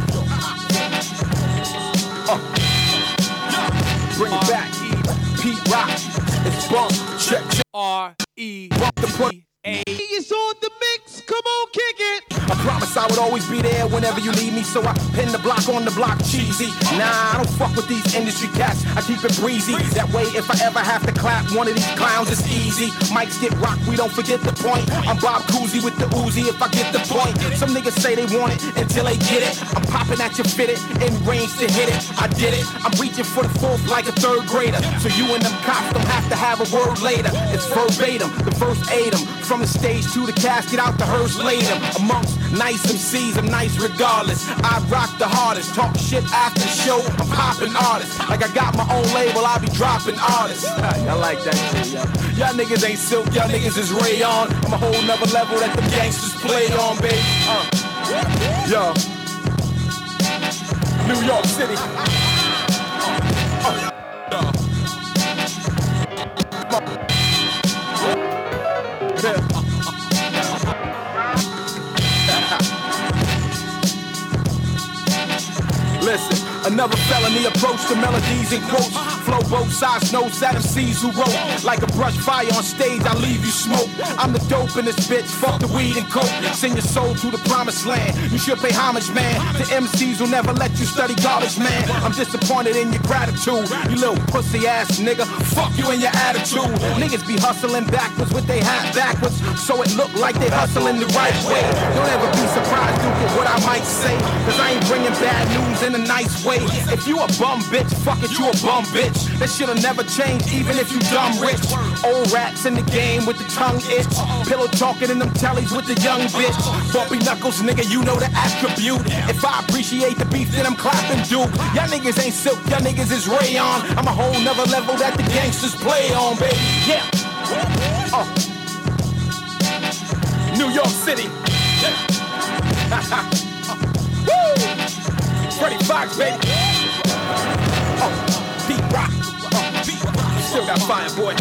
Uh. Bring it back. Pete Rock. It's bump. Check, check. R E P A.
It's on the mix. Come on, kick it.
I promise I would always be there whenever you need me, so I pin the block on the block cheesy. Nah, I don't fuck with these industry cats, I keep it breezy. That way if I ever have to clap one of these clowns, it's easy. Mics get rocked, we don't forget the point. I'm Bob Cousy with the Uzi if I get the point. Some niggas say they want it until they get it. I'm popping at you fitted, in range to hit it. I did it, I'm reaching for the fourth like a third grader. So you and them cops don't have to have a word later. It's verbatim, the first aid 'em. From the stage to the casket, out the hearse laid 'em. Amongst nice Most M Cs, I'm nice regardless. I rock the hardest, talk shit after the show. I'm popping artists. Like I got my own label, I be dropping artists. I like that shit, yo. Y'all niggas ain't silk, y'all niggas is rayon. I'm a whole nother level that the gangsters play on, baby. Uh. Yo. New York City. Uh. Uh. Listen, another felony approach to melodies and quotes. Flow both sides, no sad M Cs who wrote. Like a brush fire on stage, I leave you smoke. I'm the dope in this bitch, fuck the weed and coke. Send your soul to the promised land. You should pay homage, man, to M Cs who never let you study college, man. I'm disappointed in your gratitude, you little pussy ass nigga. Fuck you and your attitude. Niggas be hustling backwards with they hat backwards, so it look like they hustling the right way. Don't ever be surprised, Duke, at what I might say, cause I ain't bringing bad news in a nice way. If you a bum bitch, fuck it, you a bum bitch. That shit'll never change, even if you dumb rich. Old rats in the game with the tongue itch. Pillow talking in them tellies with the young bitch. Bumpy knuckles, nigga, you know the attribute. If I appreciate the beef, then I'm clapping Duke. Y'all niggas ain't silk, y'all niggas is rayon. I'm a whole nother level that the gangsters play on, baby. Yeah. Oh. New York City. Woo! Freddie Fox, baby. Oh. Deep rock. Oh, deep rock. Still got fire, boy.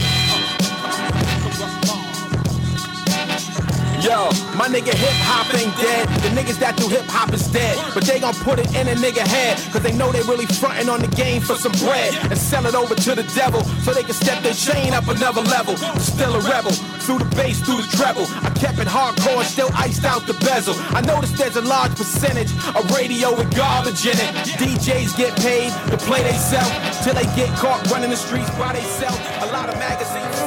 Yo, my nigga hip-hop ain't dead. The niggas that do hip-hop is dead. But they gon' put it in a nigga head, cause they know they really frontin' on the game for some bread and sell it over to the devil, so they can step their chain up another level. Still a rebel, through the bass, through the treble. I kept it hardcore and still iced out the bezel. I noticed there's a large percentage of radio with garbage in it. D Js get paid to play they sell, till they get caught running the streets while they sell a lot of magazines.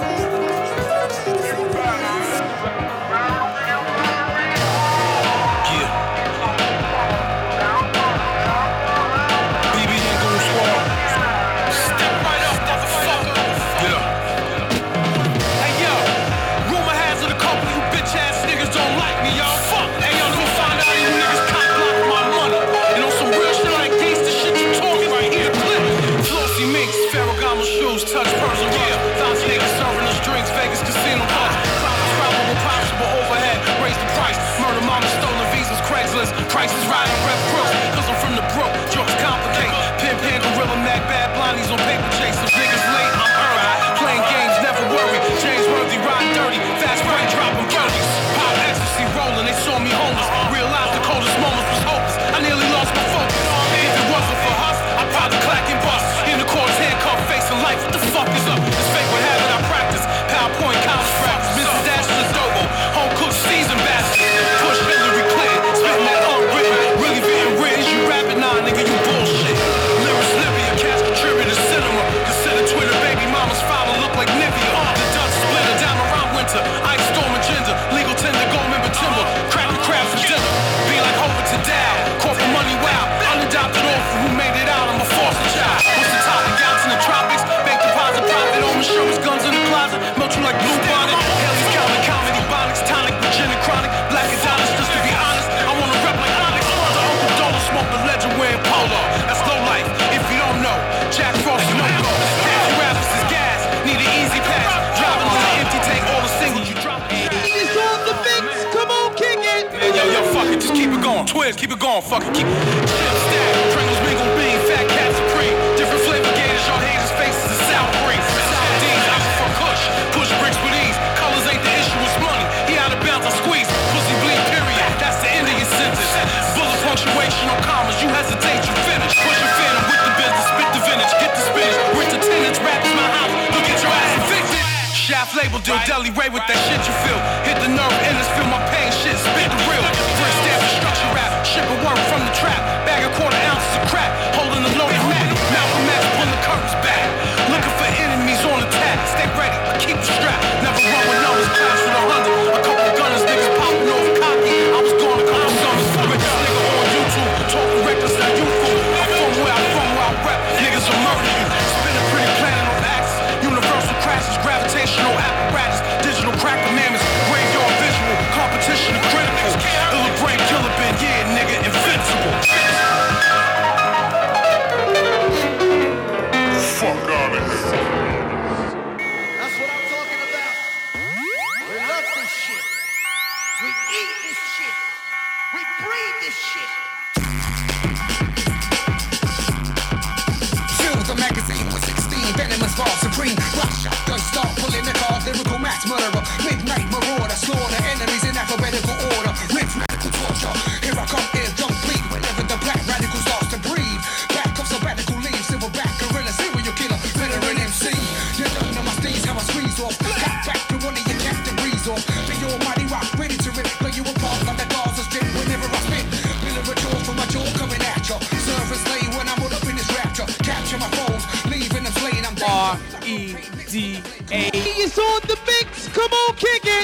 Prices riding rep crooks, cause I'm from the brook, jokes complicate. Pin pan, gorilla, mag, bad blondies on paper chase. The niggas late, I'm alright. Playing games, never worry. James Worthy, riding dirty, fast break, dropping birdies. Pop ecstasy rolling, they saw me homeless. Realized the coldest moments was hopeless. I nearly lost my focus. If it wasn't for us, I'd probably clack and bust. In the court's handcuffed, facing life, what the fuck is up? It's fake what habit I practice. PowerPoint, college practice. Missus Dash is adobo. Home cooked seasoned bastard. Push Hillary Clinton, spitting that unwritten. Really being rich, you rapping nah, nigga, you bullshit. Lyrics Livia, cash contributor cinema. Consider Twitter baby mama's father look like Nivea. The Dutch splitter down around winter. Ice storm agenda, legal tender, gold member timber. Crappy crab for dinner. Be like Homer to Dow. Corporate money wow. Unadopted orphan who made it out, I'm a foster child. What's the topic? Yachts in the tropics. Bank deposit profit. Home insurance, guns in the closet. Melt you like blue bonnet. Haley's counting comedy, bonics, tonic, gin and chronic. Black Adonis, just to be honest. I wanna rep like Onyx. The Uncle Dollar smoke the legend wearing polo. That's low life, if you don't know. Jack Frost, no go. Half your rappers is gas, need an easy pass. Driving on the empty tank, all the singles you drop.
It's on the mix, come on, kick it.
Yo, yo, fuck it, just keep it going. Twins, keep it going, fuck it, keep it. Chip stack, Pringles, mingle bean, fat cat supreme. Different flavor gators, y'all haters' faces is sour green. D's, I'm for Kush, push bricks with ease. Colors ain't the issue, it's money. He out of bounds, I squeeze. Pussy bleed, period. That's the end of your sentence. Bullet punctuation on commas, you hesitate, you finish. Push your phantom with the business, spit the vintage, get the spinach. Rent the tenants, rap is my house, look at your ass evicted. Shaft label deal, Deli Ray with that shit you feel. Hit the nerve, endless, feel my pain, shit, spit the real. First stamp construction rap, shipping work from the trap. Bag a quarter ounces of crack, holding the loaded Mac. Malcolm X, pulling the curtains back. Looking for enemies on attack, stay ready, I keep the strap. Never run with numbers, class with a hundred. A couple of gunners, niggas popping off cocky. I was gone a couple summers. Richest nigga on YouTube, talking reckless, not youthful. I'm from where I'm from, where I rap, niggas will murder you. Spinning pretty planet on axis, universal crashes, gravitational apparatus, digital crack commandments, graveyard visual.
We eat this shit. We breathe this shit.
Fill the magazine with sixteen venomous bars supreme. Rush up, gun start pulling the card. Lyrical mass murderer, midnight marauder, slaughter enemies in alphabetical order. Rhythmical torture. Here I come, ear don't bleed. Whenever the black radical starts to breathe. Back of sabbatical leaves, silverback gorilla, serial killer, veteran M C. You don't know my steez, how I squeeze off. Cut back to one of your captain breeze off. The almighty rock, ready to rip, play you apart like the Gaza Strip. Whenever I spit, military from my jaw coming at ya. Service lay when I'm all up in this rapture. Capture my foes, leaving them slain. I'm
R E D A.
It's on the mix. Come on, kick it.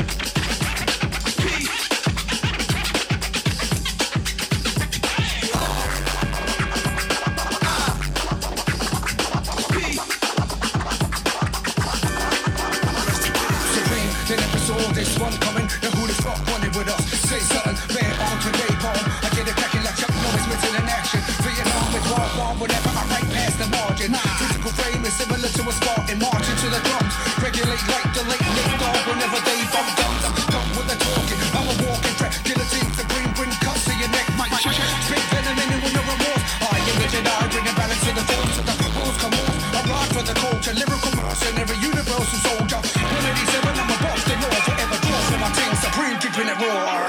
This one coming, now who the fuck wanted with us? Say something, man, on today, bomb. I get it cracking like Chuck Norris, missing in action. Vietnam with war, war, whenever I right past the margin. Physical frame is similar to a Spartan, marching to the drums. Regulate like the late Nick Dog whenever they bump guns. I'm done with the talking, I'm a walking track. Guillotine to bring, bring cuts to your neck, might check. Big venom in it with no remorse. I am a Jedi, bringing balance to the force of the rules come on. I ride for the culture, lyrical mercenary, universal soldier. one eighty-seven, I'm a boss, the law forever. My team supreme, keeping it raw.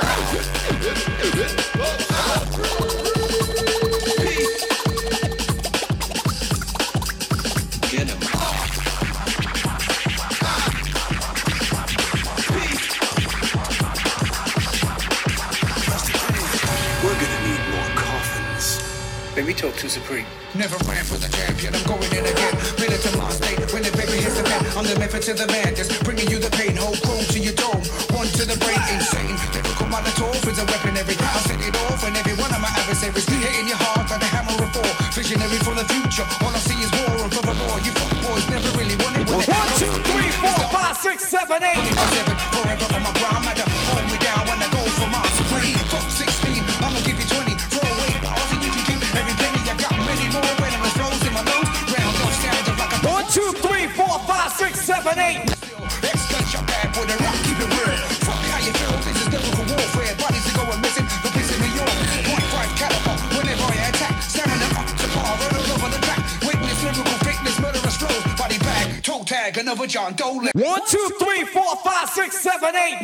Get him.
We're gonna need more coffins.
Baby, talk to Supreme. Never ran for the champion, I'm going in again. Been it to my state, when the baby hits the fan. I'm the method to the man, just bringing you the pain. Whole chrome to your dome, one to the brain, insane. Lyrical Molotov is a weaponry. I set it off and every one of my adversaries hitting your heart like a hammer of four. Visionary for the future, all I see is war and furthermore. You fuck boys never really wanted what
One, two, three, four, five, six, seven, eight.
Forever on my grind, matter. Hold me down when I go for my supreme. Fuck sixteen, I'ma give you twenty. Throw away, but all you can keep every penny I got. Many more venomous flows in my lungs. Round up, stand up like a
one, two, three, four, five, six, seven, eight.
X-Gun your bad for the rock, keep it real. Fuck how you feel, this is lyrical warfare. Bodies are going missing, the piece in New York. Point five caliber, whenever I attack. Stamina up to par, run all over the track. Witness lyrical fitness, murderous flows. Body bag, toe tag, another John Doe.
One, two, three, four, five, six, seven, eight.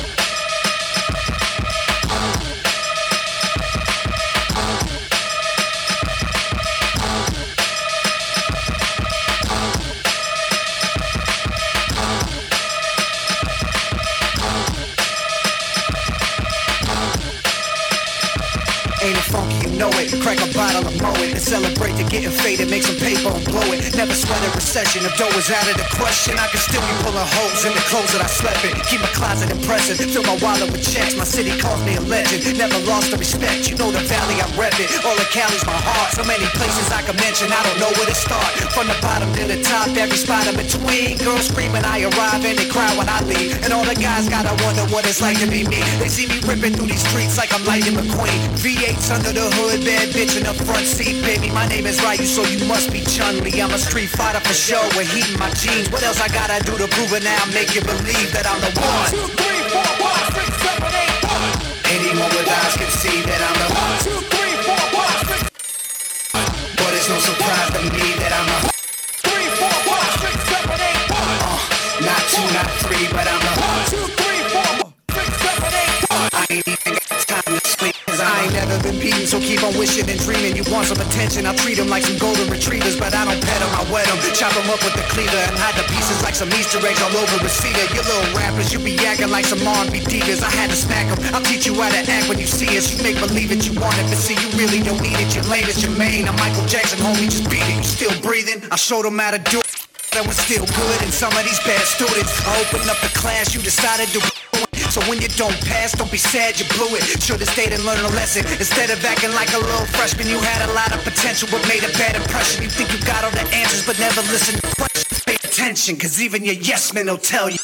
Ain't it funky, you know it. Crack a bottle and mow it. And celebrate the getting faded, make some paper and blow it. Never sweat a recession. If dough is out of the question, I can still be pulling holes in the clothes that I slept in. Keep my closet impressive, fill my wallet with checks. My city calls me a legend. Never lost the respect. You know the valley, I rep it. All of Cali's my heart. So many places I can mention, I don't know where to start. From the bottom to the top, every spot in between. Girls screaming, I arrive, and they cry when I leave. And all the guys gotta wonder what it's like to be me. They see me ripping through these streets like I'm Lightning McQueen. V eights under the hood, bad bitch in the front seat. Baby, my name is Ryu, so you must be Chun-Li. I'm a street fighter for show, with heat in my jeans. What else I gotta do to prove it now? Make you believe that I'm the one. One, two, three, four, five, six, seven, eight, one. Anyone with eyes can see that I'm the one, two, three, four, five, six. But it's no surprise to me that I'm the three, four, five, six, seven, eight, one. Uh, not two, not three, but I'm the one, two, three, four, six, seven, eight, one. I ain't even got time to sleep, cause I ain't never been beaten, so keep on wishing and dreaming. You want some attention, I'll treat them like some golden retrievers, but I don't pet them, I wet them. Chop them up with the cleaver and hide the pieces like some Easter eggs all over a cedar. You little rappers, you be acting like some R and B divas. I had to smack them, I'll teach you how to act when you see us. You make believe it, you want it, but see you really don't need it. You're lame as your main. I'm Michael Jackson, homie, just beat it. You still breathing? I showed them how to do it. That was still good, and some of these bad students. I opened up the class, you decided to ruin it. So when you don't pass, don't be sad, you blew it. Should've stayed and learned a lesson. Instead of acting like a little freshman, you had a lot of potential, but made a bad impression. You think you got all the answers, but never listen to questions. Pay attention, cause even your yes men will tell you.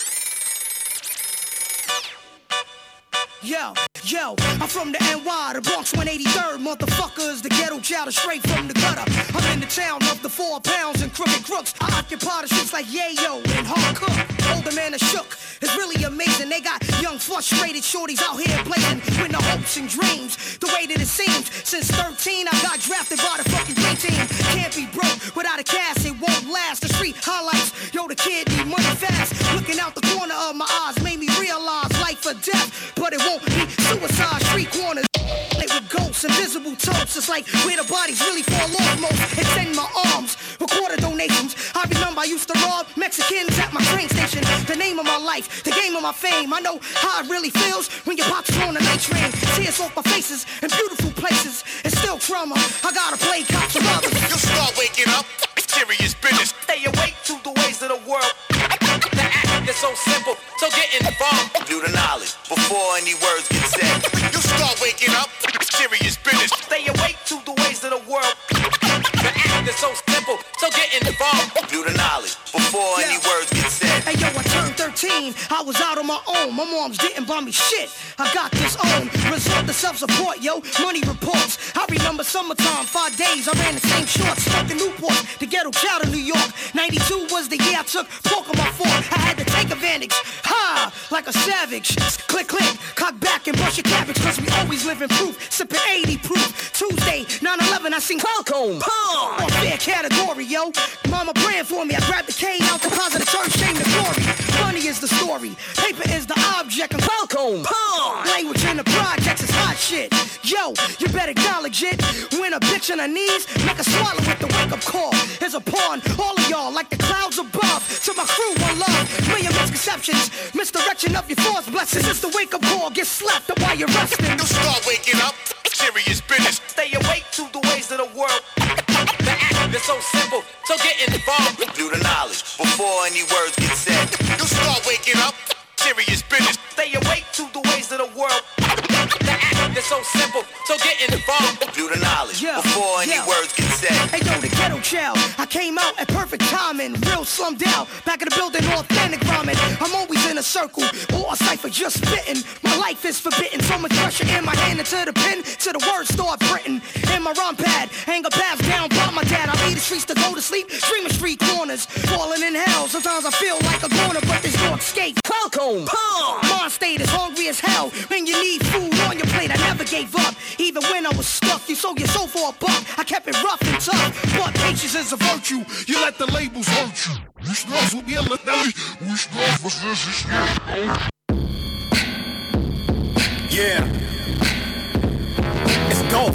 Yo, yo, I'm from the N Y, the Bronx one eighty-third, motherfuckers, the ghetto child is straight from the gutter. I'm in the town of the four pounds and crooked crooks. I occupy the streets like Yayo and Hard Cook. Older man is shook. is really amazing. They got young, frustrated shorties out here blazing with no hopes and dreams. The way that it seems, since thirteen, I got drafted by the fucking dream team. Can't be broke without a cast, it won't last. The street highlights, yo, the kid need money fast. Looking out the corner of my eyes made me realize life or death, but it won't be suicide. Street corners with ghosts, invisible totes. It's like where the bodies really fall off most. Extend my arms, recorder donations. I remember I used to rob Mexicans at my train station. The name of my life, the game of my fame. I know how it really feels when your pops on the night train. Tears off my faces in beautiful places. It's still trauma. I gotta play cops and robbers.
You start waking up, serious business.
Stay awake to the ways of the world. The act is so simple, so get involved.
Do the knowledge before any words get said. You start waking up, serious business.
Stay awake to the ways of the world. The act is so simple, so get involved.
Do the knowledge before
Yeah.
any words get said.
Hey yo, I turned thirteen, I was out on my own. My moms didn't buy me shit, I got this own. Resort to self-support, yo, money reports. I remember summertime, five days, I ran the same shorts. Smoking Newport, the ghetto child of New York. ninety-two was the year I took pork on my fork. I had to take advantage, ha, like a savage. Click, click, cock back and brush your cabbage. Cause we always live in proof, sipping eighty proof. Tuesday, nine eleven, I seen Qualcomm. On fair category, yo. Mama praying for me, I grabbed the cane out the closet of church, shame the glory. Money is the story, paper is the object, and Qualcomm. Language in the projects is hot shit. Yo, you better acknowledge it. When a bitch on her knees, make her swallow with the wake-up call. Here's a pawn, all of y'all like the clouds above. To my crew, one love, million misconceptions. Misdirection of your thoughts, blessings. It's the wake-up call, get slapped up while you're resting.
You start waking up, serious business.
Stay awake to the ways of the world. The act is so simple, so get involved.
Do the knowledge before any words get said. You start waking up, serious business.
Stay awake to the ways of the world. The act is so simple, so get involved.
Do the knowledge
Yeah,
before any
yeah.
words get said.
Hey yo, the ghetto child, I came out at perfect timing. Real slummed out, back in the building, authentic rhyming. I'm always in a circle, or a cipher just spitting. My life is forbidden, so much pressure in my hand into the pen, to the words start printing. In my rhyme pad, anger pass down by my dad. I leave the streets to go to sleep, dreaming street corners, falling in hell. Sometimes I feel like a goner, but there's no escape. Qualcomm, mind state is hungry as hell. When you need food on your plate, I never gave up. Even when I was stuck, you sold your soul for a buck. I kept it rough and tough, but patience is a virtue.
You let the labels hurt you. You struggle with your little. We struggle for this.
Yeah. It's dope.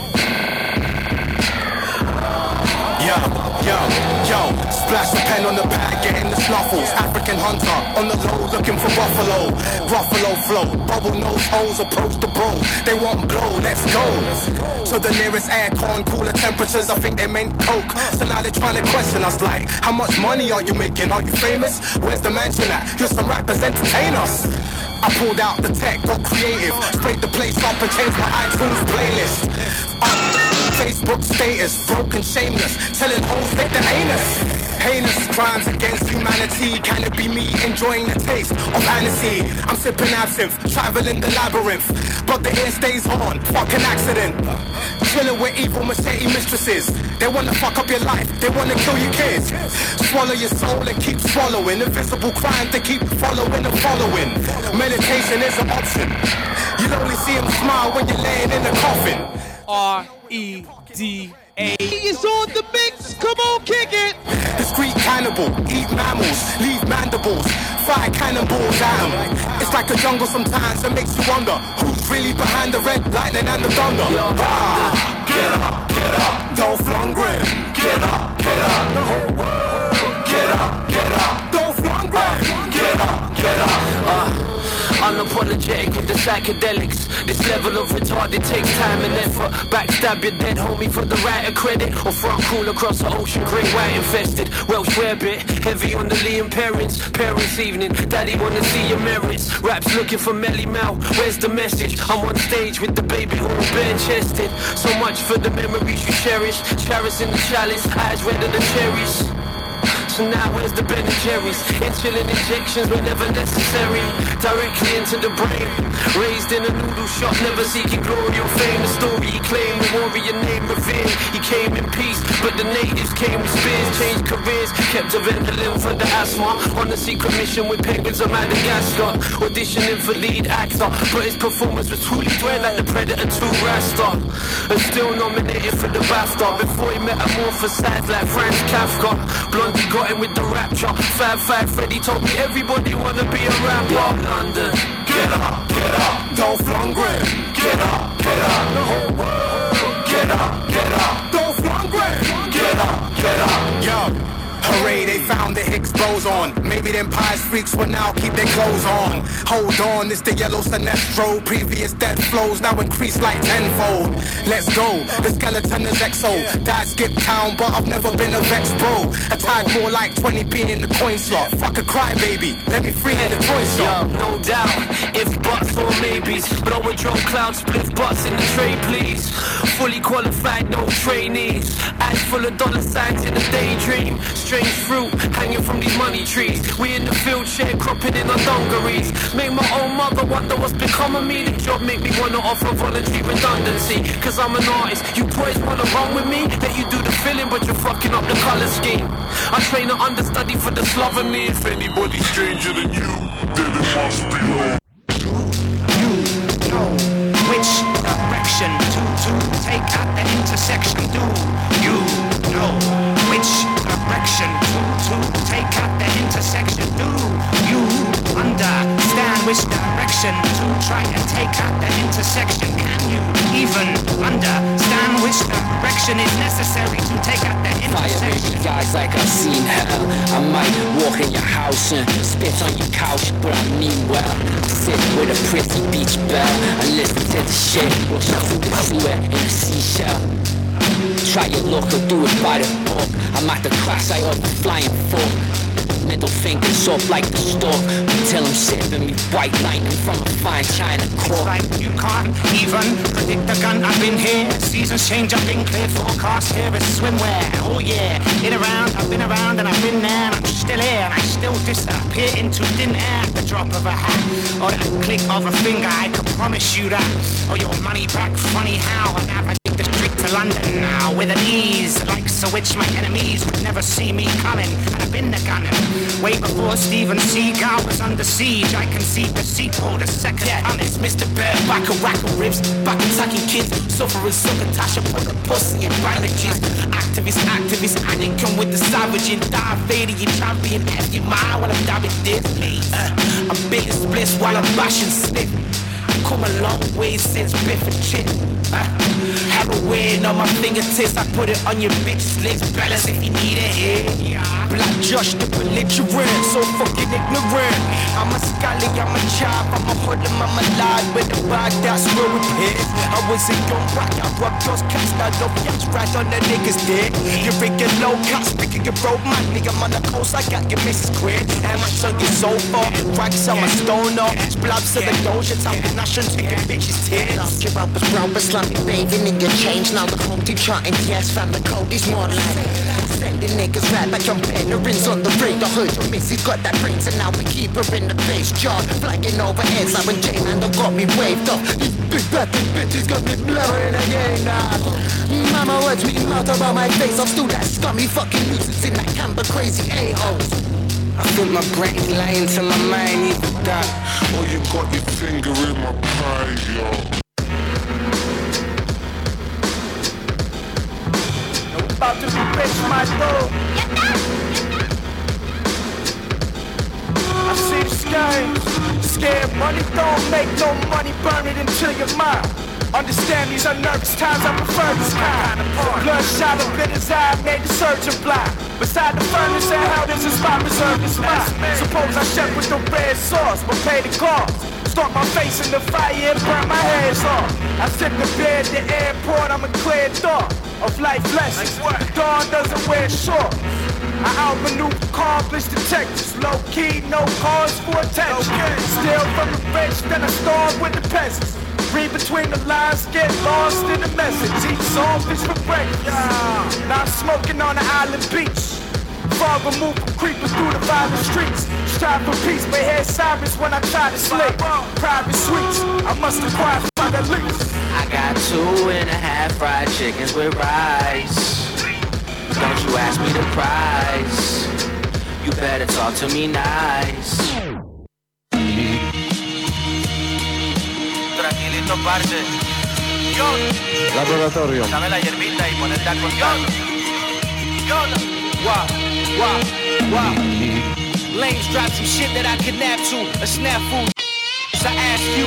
Yo, yo, yo. Splash the pen on the pad, getting the snuffles. African hunter on the low, looking for buffalo. Buffalo flow, bubble nose holes approach the bro. They want blow, let's go. So the nearest aircon, cooler temperatures, I think they meant coke. So now they're trying to question us like, how much money are you making? Are you famous? Where's the mansion at? Here's some rappers, entertain us. I pulled out the tech, got creative, sprayed the place up and changed my iTunes playlist. Up, Facebook status, broken, shameless, telling hoes they the heinous. Heinous crimes against humanity. Can it be me enjoying the taste of fantasy? I'm sipping absinthe, traveling the labyrinth, but the air stays on, fucking accident. Chilling with evil machete mistresses. They wanna fuck up your life, they wanna kill your kids. Swallow your soul and keep swallowing. Invisible crimes they keep following and following. Meditation is an option. You'll only see them smile when you're laying in a coffin.
R E D A. It's on the mix, come on, kick it.
Discreet cannibal, eat mammals, leave mandibles, fire cannonballs at 'em. It's like a jungle sometimes, it makes you wonder who's really behind the red lightning and the thunder. Ah, get up, get up, Dolph Lundgren. Get up, get up, the whole world. Get up, get up, Dolph Lundgren. Get up, get up.
Uh. Unapologetic with the psychedelics. This level of retarded takes time and effort. Backstab your dead homie for the right of credit, or front cool across the ocean, great white infested. Welsh rarebit, heavy on the Liam parents. Parents evening, daddy wanna see your merits. Raps looking for Melly Mel, where's the message? I'm on stage with the baby who was bare chested. So much for the memories you cherish. Chalice in the chalice, eyes redder than cherries. Coke, so now where's the Ben and Jerry's? Insulin injections whenever necessary, directly into the brain. Raised in a noodle shop, never seeking glory or fame. The story he claimed, the warrior name revered. He came in peace, but the natives came with spears. Changed careers, kept a Ventolin for the asthma. On a secret mission with penguins of Madagascar, auditioning for lead actor, but his performance was truly dread like the Predator two Rasta. And still nominated for the BAFTA before he metamorphosed like Franz Kafka. Blondie got him with the rapture. Fab Fab Freddy told me everybody wanna be a rapper. Yo, London, get up, get up, Dolph Lundgren, get up, get up, the whole world, get up, get up, Dolph Lundgren, get up, get up, yo.
Hooray, they found the Higgs boson. Maybe them pies freaks will now keep their clothes on. Hold on, it's the yellow Sinestro. Previous death flows now increase like tenfold. Let's go, the skeleton is exo. Died skip town, but I've never been a vex bro. A tag more like twenty p in the coin slot. Fuck a crybaby, let me free in the toy shop.
Yo, no doubt, if buts or maybes. Blow a drone cloud, split butts in the tray please. Fully qualified, no trainees. Eyes full of dollar signs in a daydream. Strange fruit hanging from these money trees. We in the field shed cropping in our dungarees. Make my own mother wonder what's become of me. The job make me wanna offer voluntary redundancy. Cause I'm an artist, you boys wanna run with me. Let you do the filling but you're fucking up the colour scheme. I train an understudy for the Slovenly. If anybody's stranger than you, then it must be wrong.
You know which direction to, to take at the intersection. Do you know which direction to, to take at the intersection? Do you understand which direction to try and take at the intersection? Can you even understand which direction is necessary to take at the intersection?
Fire guys like I've seen hell. I might walk in your house and spit on your couch, but I mean well. Sit with a pretty beach bell and listen to the shit. Nothing to sweat in a seashell. Try your luck or do it by the book. I'm at the crash eye of the flying fork. Middle fingers up like the stork until I'm sipping me white lightning from a fine china cork.
Like you can't even predict the gun. I've been here, seasons change, I've been clear. Forecast here is swimwear. Oh yeah, been around, I've been around and I've been there. And I'm still here and I still disappear into thin air at the drop of a hat or that click of a finger. I can promise you that. Or your money back, funny how I navigate the street to London now with an ease like so which my enemies would never see me coming. And I've been the gunner. Way before Steven Seagal was under siege, I conceived the sequel, the second yeah, time. It's Mister Bear, back a rack of ribs, back attacking kids, suffering succotash, put the pussy in bandages. Activist, activist, I didn't come with the savage and die fading your champion. F your mind while I'm dabbing this. Uh, I'm baiting splits while I'm bashing slip. Come a long way since Biff and Chip. Uh, heroin on my fingertips, I put it on your bitch's lips. Balance if you need it here. Yeah. Black Josh the belligerent, so fucking ignorant. I'm a scally, I'm a chop, I'm a hoodlum, I'm a lad with a bag, that's where we hit. I was a young rock, I rubbed those cats, now no yachts right on the niggas dick. You're freaking low cops, speaking your road, man, nigga, I'm on the coast, I got your missus quit. And my son gets so far, racks on my stone up, splabs to the doja, talking, I shouldn't take your bitches' tears.
Your rappers brown, but slumpy, bathing in your change, now the home deep charting, yes, fam, the code is more like sending niggas right back on veterans on the radar. Heard your missus got that brains and now we keep her in the face. Jaw flagging over heads like when J-Man got me waved off. These big batty bitches got me blowing again now. Mama was tweeting out about my face. I'm still that scummy fucking nuisance in that camper crazy a-holes.
I think my brain's lying to my mind, either that
or you got your finger in my pie, yo.
About to be rich, my dog. I see the sky. Scared money don't make no money. Burn it into your mind. Understand these are nervous times. I prefer this kind. Bloodshot up in his eye made the surgeon blind. Beside the furnace and how this is my reserve is mine. Suppose I chef with the red sauce, but pay the cost. Start my face in the fire and burn my hands off. I sip the beer at the airport, I'm a clear thought of life lessons. Dawn doesn't wear shorts. I outmaneuver accomplished detectives. Low key, no cause for attention. Steal from the rich, then I starve with the peasants. Read between the lines, get lost in the message. Eat saltfish for breakfast. Now I'm smoking on the island beach. far removed from creepers through the violent streets. Strive for peace, but hear sirens when I try to sleep. Private suites, I must acquire five at least.
I got two and a half fried chickens with rice. Don't you ask me the price. You better talk to me nice. Tranquilito, parce. Yo.
Laboratorio.
Dame la hierbita y ponerte a contar. Yo.
Wow, wow, wow. Lames drop some shit that I kidnap to. A snafu. So I ask you.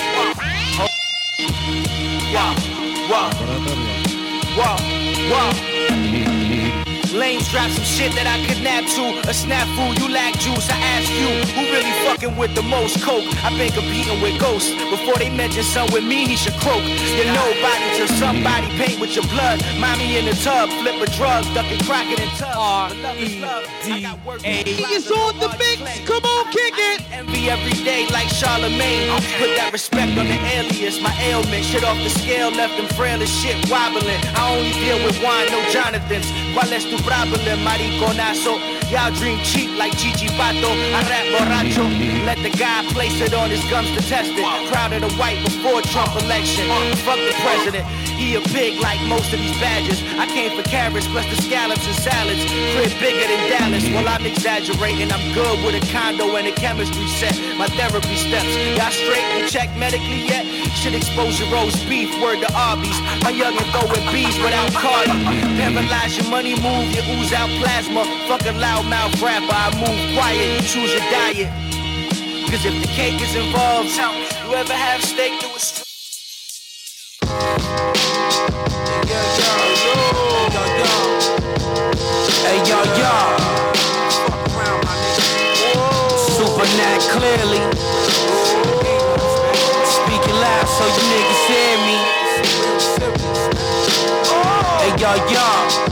Wow, wow, wow, wow. Lames drop some shit that I kidnap to. A snafu, you lack juice. I ask you, who really fucking with the most coke? I been competing with ghosts. Before they mention son with me, he should croak. You're nobody till somebody paint with your blood. Mommy in the tub, flip a drug, ducking cracking in tub.
R E D A. It's on the mix. Come on, kick it.
Envy every day like Charlemagne. Put that respect on the alias. My ailment, shit off the scale, left them frail as shit wobbling. I only deal with wine, no Jonathans. ¿Cuál es tu problem, mariconazo? Y'all dream cheap like Gigi Pato. I rap borracho. Let the guy place it on his gums to test it. Proud of the white before Trump election. Fuck the president. He a pig like most of these badges. I came for carrots plus the scallops and salads. Crib bigger than Dallas. Well, I'm exaggerating. I'm good with a condo and a chemistry set. My therapy steps. Y'all straight and check medically yet? Should expose your roast beef. Word to Arby's. My youngin' throwing bees without Cardi. Paralyze your money move. You ooze out plasma. Fuck a loudmouth rapper. I move quiet. You choose your diet. Cause if the cake is involved, you ever have steak to a str-
Hey yo yo, Super Nat clearly. Speaking loud so you niggas hear me. Hey yo yo,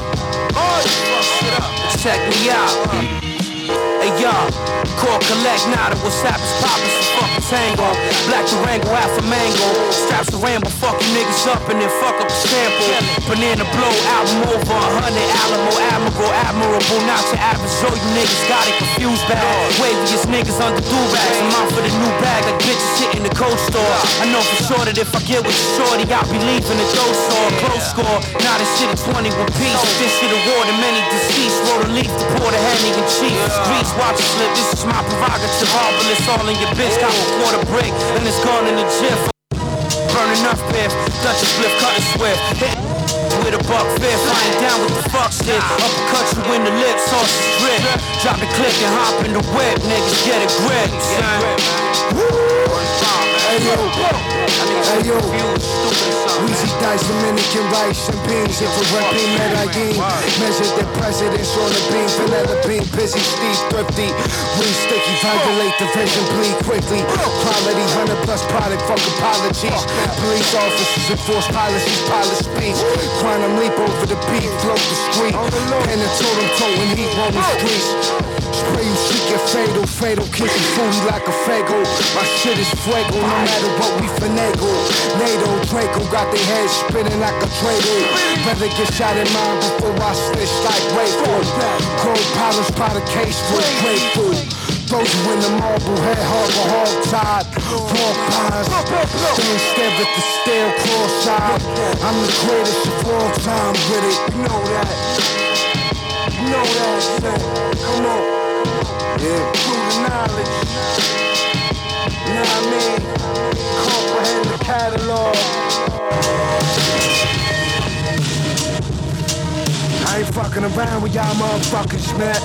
check me out. Hey yo, call collect now that what's happening, poppin' some fucking tango. Black Durango, Alpha Mango. Straps the Rambo, fuck you niggas up and then fuck up the sample. Banana blow, album over a hundred. Alamo, admirable, admirable. Not your average Joe, you niggas got it confused bad. Waviest niggas under do-rags. I'm out for the new bag like bitches shit in the cold store. I know for sure that if I get with you shorty, I'll be leaving the dough store. Close score, now this shit is twenty-one piece. This shit awarded many deceased. Roll a leaf to pour the Henny and Chief. Grease, watch it slip, this is my prerogative. Marvelous, all in your bitch. Got a quarter brick, and it's gone in the jiff. Burn enough biff, Dutch a split, cut it swift. Hit with a buck fifth, I ain't down with the fuck shit. Uppercut you in the lip, sausage drip. Drop the click and hop in the whip, niggas get a grip.
Hey yo, hey yo, Weezy Dice, Dominican rice and beans. If we're repping Medellin, measure the presidents on the beam. Vanilla bean, busy, Steve, thrifty. We sticky, violate the vision, bleed quickly. Quality, hundred plus product, fuck apologies. Police officers enforce policies, polish speech. Quantum leap over the beat, float the street. Pen and totem toting heat on the streets. Spray you, shit get fatal, fatal, kiss you foodie like a fago. My shit is fuego, no matter what we finagle. NATO, Draco got their heads spinning like a dreidel. Better get shot in mine before I snitch like Rayford. Gold polish by the case for grateful. Those who in the marble head harbor hog tied. Raw pies, stand stare at the stale cross-eyed. I'm the greatest of all time with it, you know that. You know that, son. Come on. Yeah, through the knowledge. You know what I mean? Comprehend the catalog. I ain't fucking around with y'all motherfuckers, man.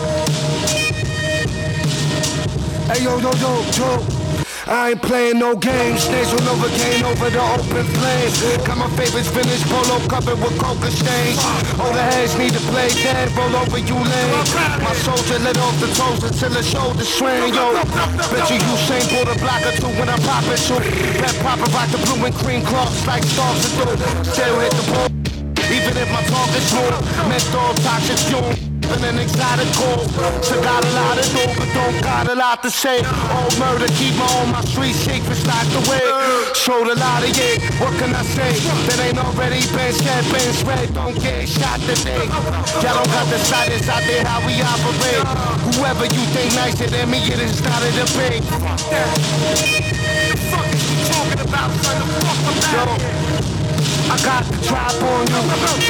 Hey yo, yo, yo, yo. I ain't playing no games. Snakes will never gain over the open flames. Got my favorites finished, polo covered with coca stains. All the heads need to play dead, roll over you lame. My soldier let off the toes until the shoulder swing, yo. Bet you Usain pull the block or two when I pop it, so that popper rock the blue and cream cloths like stars to do. Still hit the ball, even if my target's smooth. Menthol toxic fume.
living an exotic goal. So got a lot of dough, but don't got a lot to say. Old murder, keep my on my street shake for locked away. Showed a lot of yeah, what can I say? That ain't already been said, been spread, don't get shot today. Y'all don't got the slightest idea how we operate. Whoever you think nicer than me, it is not a debate. Fuck that. The fuck is you talking about, son? The fuck about it? I got the drop on you.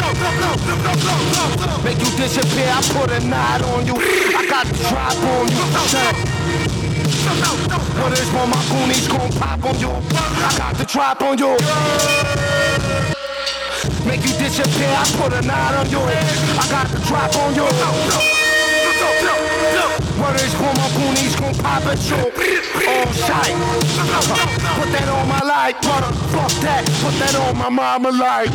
Make you disappear, I put a knot on you. I got the drop on you. What is when my goonies gon' pop on you? I got the drop on you. Make you disappear, I put a knot on you. I got the drop on you. What is when my goonies gon' pop at you? On sight. Put that on my life, brother. Fuck that. Put that on my mama life.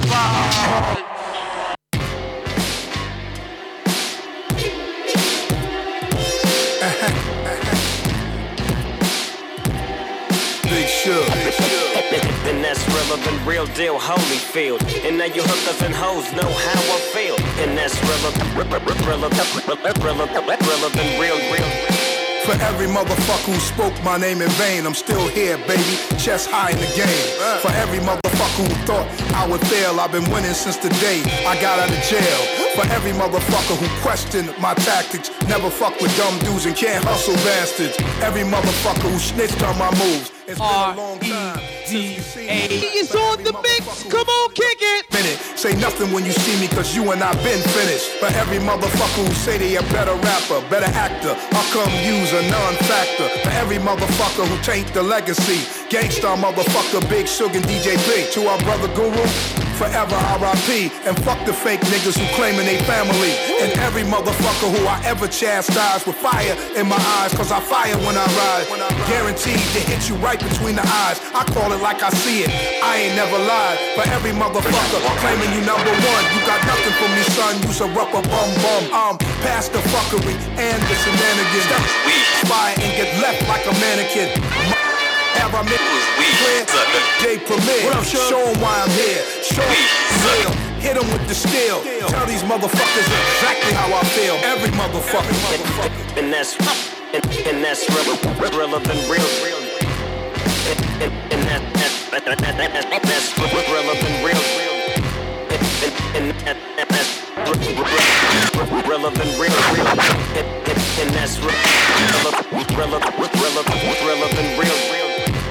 Big Shug. And that's relevant, real deal, Holyfield. And now you hookers and hoes know how I feel. And that's relevant, relevant, relevant, relevant, real, real.
For every motherfucker who spoke my name in vain, I'm still here, baby, chest high in the game. For every motherfucker who thought I would fail, I've been winning since the day I got out of jail. For every motherfucker who questioned my tactics, never fuck with dumb dudes and can't hustle bastards. Every motherfucker who snitched on my moves. It's been a long time since you seen me.
He is on the mix, come on, kick it!
Minute. Say nothing when you see me, cause you and I been finished. For every motherfucker who say they a better rapper, better actor, I'll come use a non-factor. For every motherfucker who taint the legacy, Gangstar motherfucker, Big Shug and D J Big. To our brother Guru, forever R I P. And fuck the fake niggas who claiming they family. And every motherfucker who I ever chastise with fire in my eyes, cause I fire when I ride. Guaranteed to hit you right between the eyes. I call it like I see it, I ain't never lied. For every motherfucker claiming you number one, you got nothing for me, son, you's a rubber bum bum. I'm past the fuckery and the shenanigans. Fire and get left like a mannequin. Have I met clear? J Premier, what up, show 'em why I'm here. Show 'em, hit 'em with the steel. Tell these motherfuckers exactly how I feel. Every motherfucker.
And that's and, and that's relevant, relevant, real, real. And, and that, that, that, that, that, that's relevant, real, real. And, and that, that's relevant, real, real. And, and, and that's relevant, relevant, relevant, relevant, real, real.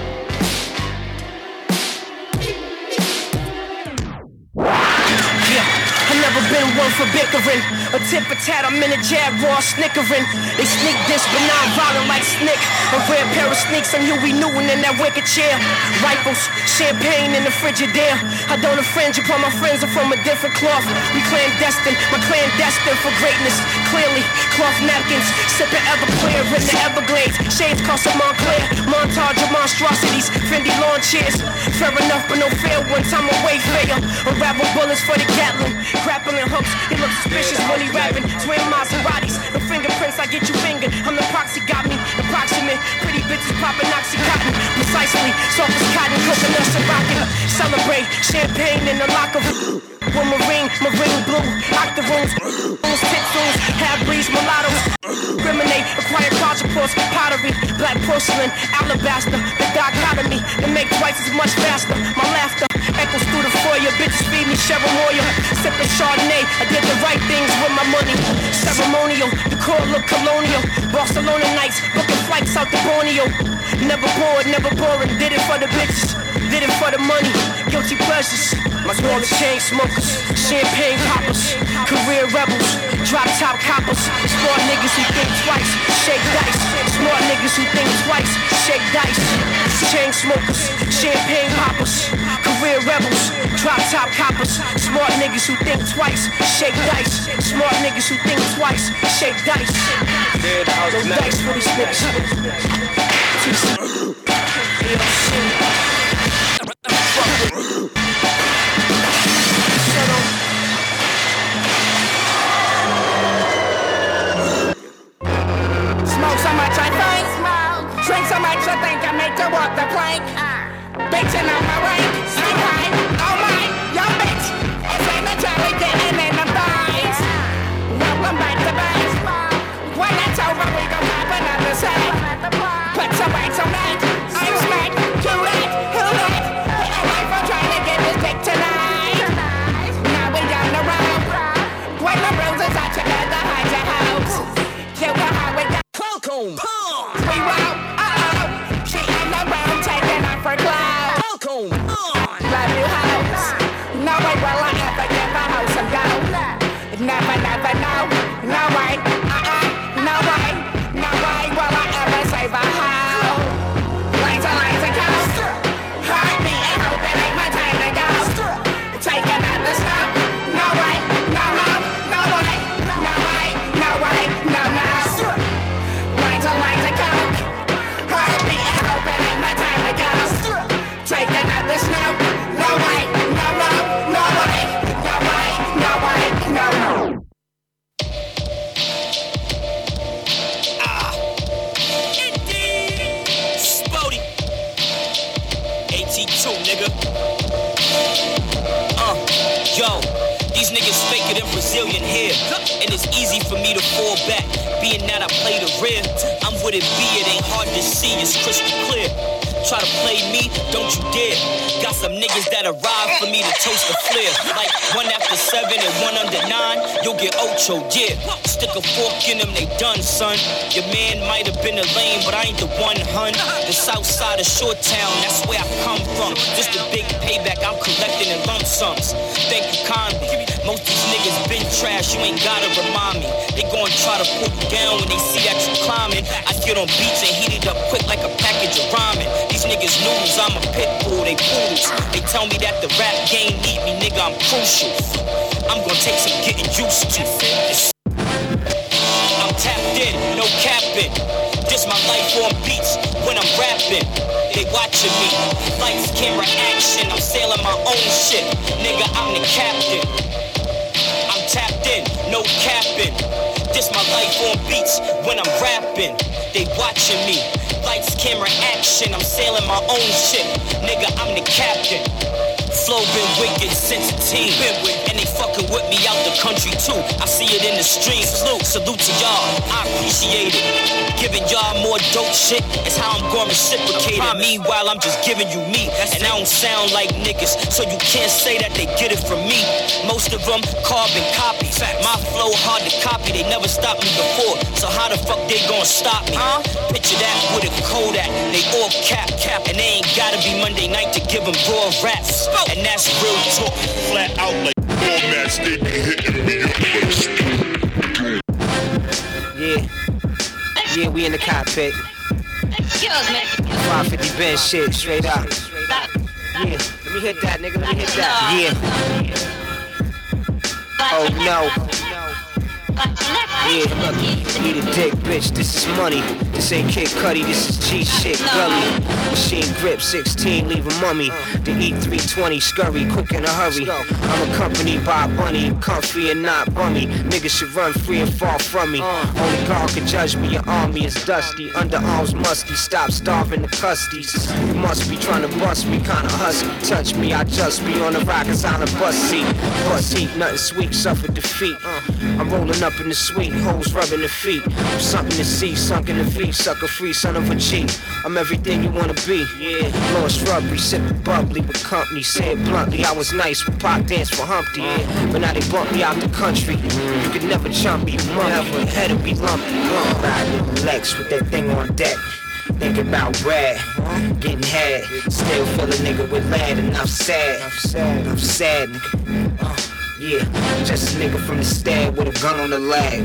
Never been one for bickering, a tit for tat, I'm in a jab, raw snickering. They sneak this, but non-violent like Snick. A rare pair of sneaks, I'm Huey Newton in that wicker chair. Rifles, champagne in the Frigidaire. I don't infringe upon my friends, are from a different cloth. We clandestine, my clan destined for greatness. Clearly, cloth napkins, sipping Everclear in the Everglades. Shades cost a Montclair, montage of monstrosities, Fendi lawn chairs. Fair enough, but no fair ones, I'm a wayfarer. Unravel bullets for the Gatlin. Grappling hooks, he looks suspicious when he rapping. Twin Maseratis, the fingerprints, I get you fingered. I'm the proxy, got me approximate. Pretty bitches popping Oxycontin, precisely. Soft as cotton, coconuts and rockin'. Celebrate, champagne in the locker room. With marine, marine blue, octoroons, rooms, pit rooms, half-breeds, mulattoes. Criminate, acquire quadruples, pottery, black porcelain, alabaster. The dichotomy, they make twice as much faster. My laughter echoes through the foyer, bitches feed me Cheryl Moyer. Sipping Chardonnay, I did the right things with my money. Ceremonial, the core look colonial. Barcelona nights, booking flights out to Borneo. Never bored, never boring, did it for the bitches, did it for the money. Guilty pleasures, my smaller chain smokers, champagne poppers, career rebels, drop top coppers. Smart niggas who think twice, shake dice. Smart niggas who think twice, shake dice. Chain smokers, champagne poppers, career rebels, drop top coppers. Smart niggas who think twice, shake dice. Smart niggas who think twice, shake dice. No dice for these niggas.
Smoke so much I think, drink so much I think I make to walk the plank. Bitchin' on my rank, sing high, oh my, yo bitch, it's in the jelly getting in the thighs. Welcome back to back.
nigga. Uh, yo, these niggas faker than Brazilian hair, and it's easy for me to fall back, being that I play the rear. I'm with it, be it ain't hard to see, it's crystal clear. Try to play me, don't you dare. Got some niggas that arrive for me to toast the flare. Like one after seven and one under nine, you'll get ocho, yeah. Stick a fork in them, they done, son. Your man might have been a lame, but I ain't the one, hun. The south side of Short Town, that's where I come from. Just a big payback, I'm collecting in lump sums. Thank you kindly. Most these niggas been trash, you ain't gotta remind me. They gon' try to put you down when they see that you climbing. I get on beats and heat it up quick like a package of ramen. These niggas noodles, I'm a pit bull, they poodles. They tell me that the rap game need me, nigga, I'm crucial. I'm gonna take some getting used to. I'm tapped in, no capping. This my life on beats when I'm rapping. They watching me, lights, camera, action. I'm sailing my own shit, nigga, I'm the captain. I'm tapped in, no capping. This my life on beats when I'm rapping. They watching me, lights, camera, action. I'm sailing my own ship, nigga, I'm the captain. Flow been wicked since a teen, been with, and they fucking with me out the country too. I see it in the streams. Salute, salute to y'all, I appreciate it. Giving y'all more dope shit is how I'm gonna reciprocate it. Meanwhile, I'm just giving you me, and I don't sound like niggas, so you can't say that they get it from me. Most of them carbon copies. My flow hard to copy, they never stopped me before, so how the fuck they gonna stop me? Huh? Picture that with a Kodak, they all cap, cap, and they ain't gotta be Monday night to give them raw raps. And that's real talk, flat out like formats, they be hitting me up for the
Yeah, yeah, we in the cockpit.
Excuse me.
five fifty Benz shit, straight up. Yeah, let me hit that, nigga, let me hit that. Yeah. Oh no. Yeah, look, need a dick, bitch, this is money. This ain't Kid Cudi, this is G shit, gully. Machine grip, sixteen, leave a mummy. The E three twenty, scurry, quick in a hurry. I'm accompanied by a bunny, comfy and not bummy. Niggas should run free and fall from me. Only God can judge me, your army is dusty. Underarms musty, stop starving the custies. You must be trying to bust me, kinda husky. Touch me, I just be on the rockets on a bus seat. Bus heat, nothing sweet, suffer defeat. I'm rolling up in the suite, hoes rubbing the feet. I'm something to see, sunk in the feet, sucker free, son of a cheat. I'm everything you wanna be, yeah. Lost rubbery, sipping bubbly with company. Say it bluntly, I was nice with Pop Dance for Humpty, yeah. But now they bump me out the country. You could never jump me, you never had to be lumpy. Riding in the Lex with that thing on deck. Think about rad, getting had. Still feel a nigga with lead, and I'm sad. I'm sad, nigga. Uh, yeah, I'm just a nigga from the stad with a gun on the lag.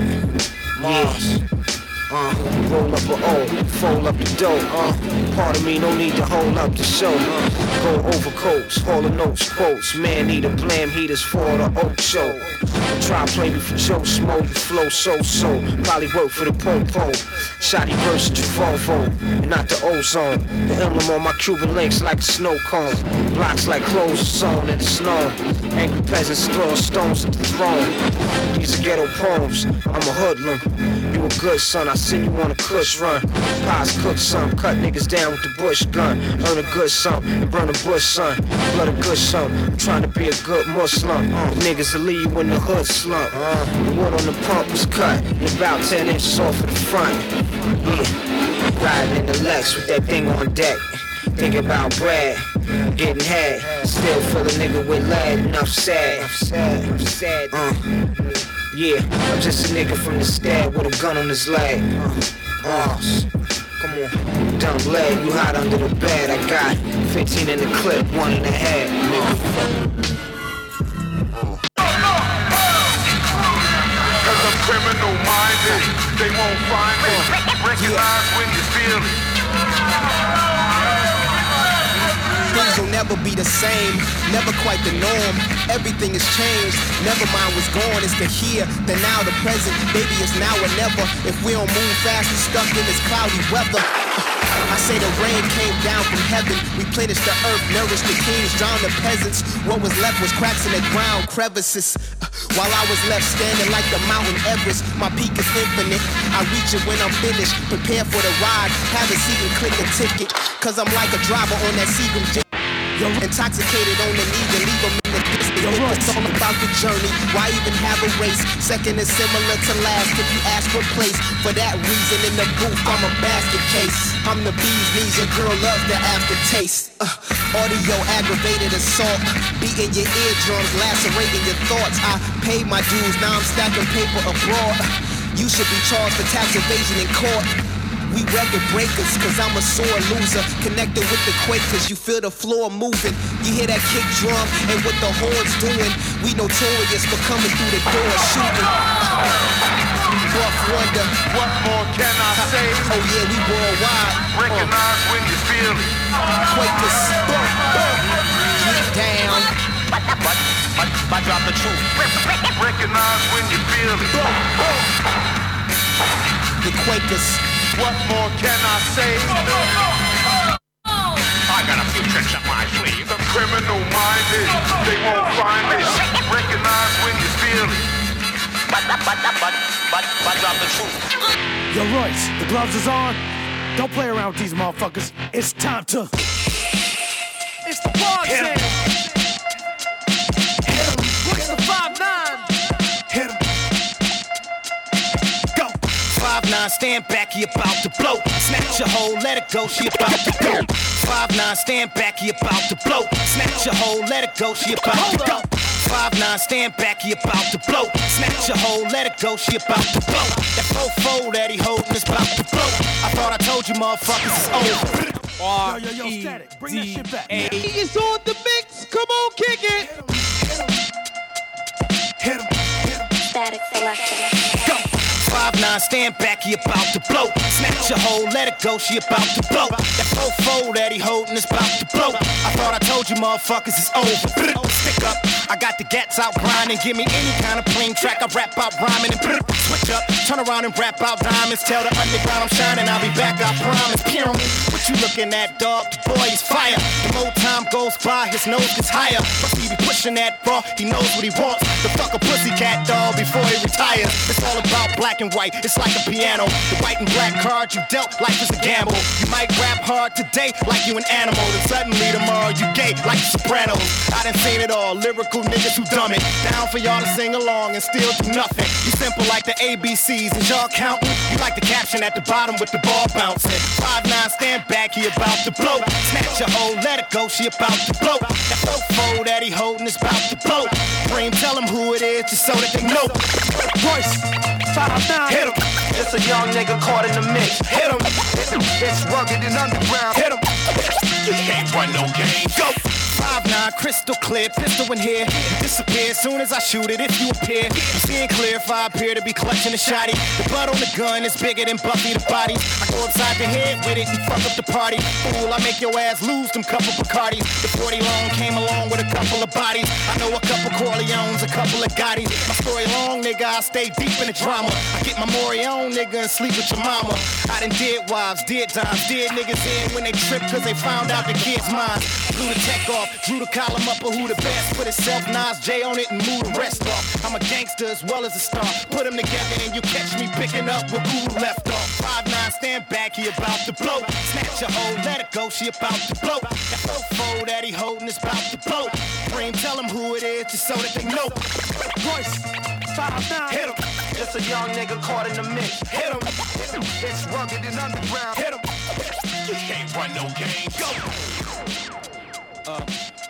Yeah. Uh, roll up a O, fold up the dough. Uh, part of me no need to hold up the show. Uh, go overcoats, haul the notes, quotes. Man need a blam heaters for the oak show. Try play me for Joe Smo, you flow so-so. Probably work for the po-po. Shotty burst to Volvo, and not the ozone. The emblem on my Cuban links like a snow cone. Blocks like clothes sewn in the snow. Angry peasants throwing stones at the throne. These are ghetto poems, I'm a hoodlum. You a good son, I send you on a cush run. Pies cook some, cut niggas down with the bush gun. Earn a good sum, and burn a bush son. Blood a good sum, I'm trying to be a good Muslim. Uh, niggas will leave you in the hood slump. Uh, the wood on the pump was cut, and about ten inches off of the front. Yeah, riding in the Lex with that thing on deck. Think about Brad, getting had. Still feel a nigga with lead, and I'm sad. I'm sad, I'm sad. Uh, yeah, I'm just a nigga from the stad with a gun on his leg. Uh, uh, come on, dumb leg, you hot under the bed. I got fifteen in the clip, one in the head, nigga.
Cause I'm criminal minded, they won't find me. Recognize when you feel it.
Things will never be the same, never quite the norm. Everything has changed, never mind what's gone. It's the here, the now, the present. Baby, it's now or never. If we don't move fast, we're stuck in this cloudy weather. I say the rain came down from heaven, replenished the earth, nourished the kings, drowned the peasants. What was left was cracks in the ground, crevices. While I was left standing like the mountain Everest, my peak is infinite. I reach it when I'm finished, prepare for the ride. Have a seat and click a ticket, cause I'm like a driver on that Seagram jet. Intoxicated on the knee, then leave them in the distance. It's all about the journey. Why even have a race? Second is similar to last if you ask for place. For that reason, in the booth, I'm a basket case. I'm the bee's knees, your girl loves the aftertaste. Uh, audio aggravated assault, beating your eardrums, lacerating your thoughts. I paid my dues, now I'm stacking paper abroad. You should be charged for tax evasion in court. We record breakers, cause I'm a sore loser. Connected with the Quakers, you feel the floor moving. You hear that kick drum and what the horns doing. We notorious for coming through the door shooting. Buff wonder,
what more can I say?
Oh yeah, we worldwide.
Recognize when you feel it.
Quakers, get down.
I drop the truth. Recognize when you feel it.
The Quakers.
What more can I say? I got a few tricks up my sleeve. The criminal minded, they won't find it. Recognize when you feel it. But, but, but, but, but, but drop the truth.
Yo, Royce, the gloves is on. Don't play around with these motherfuckers. It's time to. It's the bar jam. Hit 'em. Look at the five nine.
Hit 'em. five nine, stand back, he about to blow. Snatch your hoe, let it go, she about to go. five nine, stand back, he about to blow. Snatch your hoe, let it go, she about to go. five nine, stand back, he about to blow. Snatch your hoe, let it go, she about to blow. That fofo that he holding is about to blow. I thought I told you motherfuckers it's over.
R yo, yo, yo, Static, bring that shit back. He is on the mix, come on, kick it.
Hit him, hit him.
Static selection.
Go. five nine, stand back, he about to blow. Snatch your hoe, let it go, she about to blow. That fofo that he holding is about to blow. I thought I told you motherfuckers it's over. Stick up, I got the gats out grinding. Give me any kind of plain track, I rap out rhyming and switch up, turn around and rap out diamonds. Tell the underground I'm shining, I'll be back, I promise. Peer me, what you looking at, dog? The boy is fire. The more time goes by, his nose gets higher. Plus he be pushing that raw, he knows what he wants. The fuck a pussycat dog before he retires. It's all about black and white, it's like a piano. The white and black card you dealt, life is a gamble. You might rap hard today like you an animal, and suddenly tomorrow you gay like the Sopranos. I done seen it all, lyrical niggas who dumb it. Down for y'all to sing along and still do nothing. You simple like the A B Cs, and y'all counting? You like the caption at the bottom with the ball bouncing. five nine, stand back, he about to blow. Snatch your hoe, let it go, she about to blow. That fofo that he holding is about to blow. Dream, tell him who it is just so that they know.
Royce, five nine.
Hit him.
It's a young nigga caught in the mix.
Hit him.
It's rugged and underground.
Hit him.
You can't run no game.
Go. five nine, crystal clear, pistol in here. You disappear as soon as I shoot it if you appear. You seeing clear if I appear to be clutching a shotty. The blood on the gun is bigger than Buffy the bodies. I go upside the head with it and fuck up the party. Fool, I make your ass lose them couple Bacardis. The forty long came along with a couple of bodies. I know a couple Corleones, a couple of Gottis. My story long, nigga, I stay deep in the drama. I get my Maury on, nigga, and sleep with your mama. I done did wives, did times, did niggas in when they tripped cause they found out the kid's mine. Blew the tech off, drew the column up of who the best. Put itself, Nas J on it and move the rest off. I'm a gangster as well as a star. Put them together and you catch me picking up where Guru left off. five nine, stand back, he about to blow. Snatch your hoe, let it go, she about to blow. That fofo that he holding is about to blow. Dream, tell him who it is just so that they know.
Royce, five nine.
Hit him.
It's a young nigga caught in the mix.
Hit him.
It's rugged and underground.
Hit him.
You can't run no game.
Go. Uh,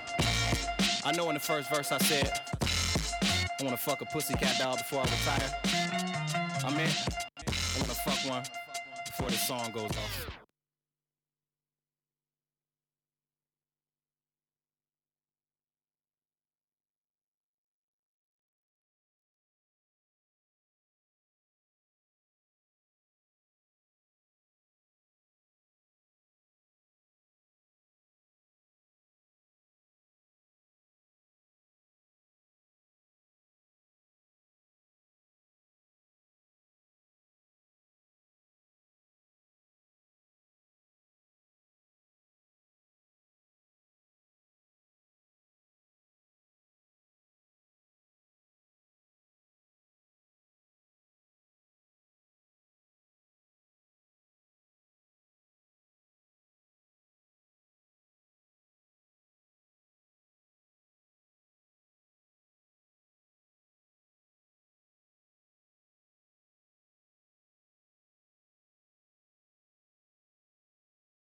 I know in the first verse I said I wanna fuck a pussycat doll before I retire. I'm in. I wanna fuck one before this song goes off.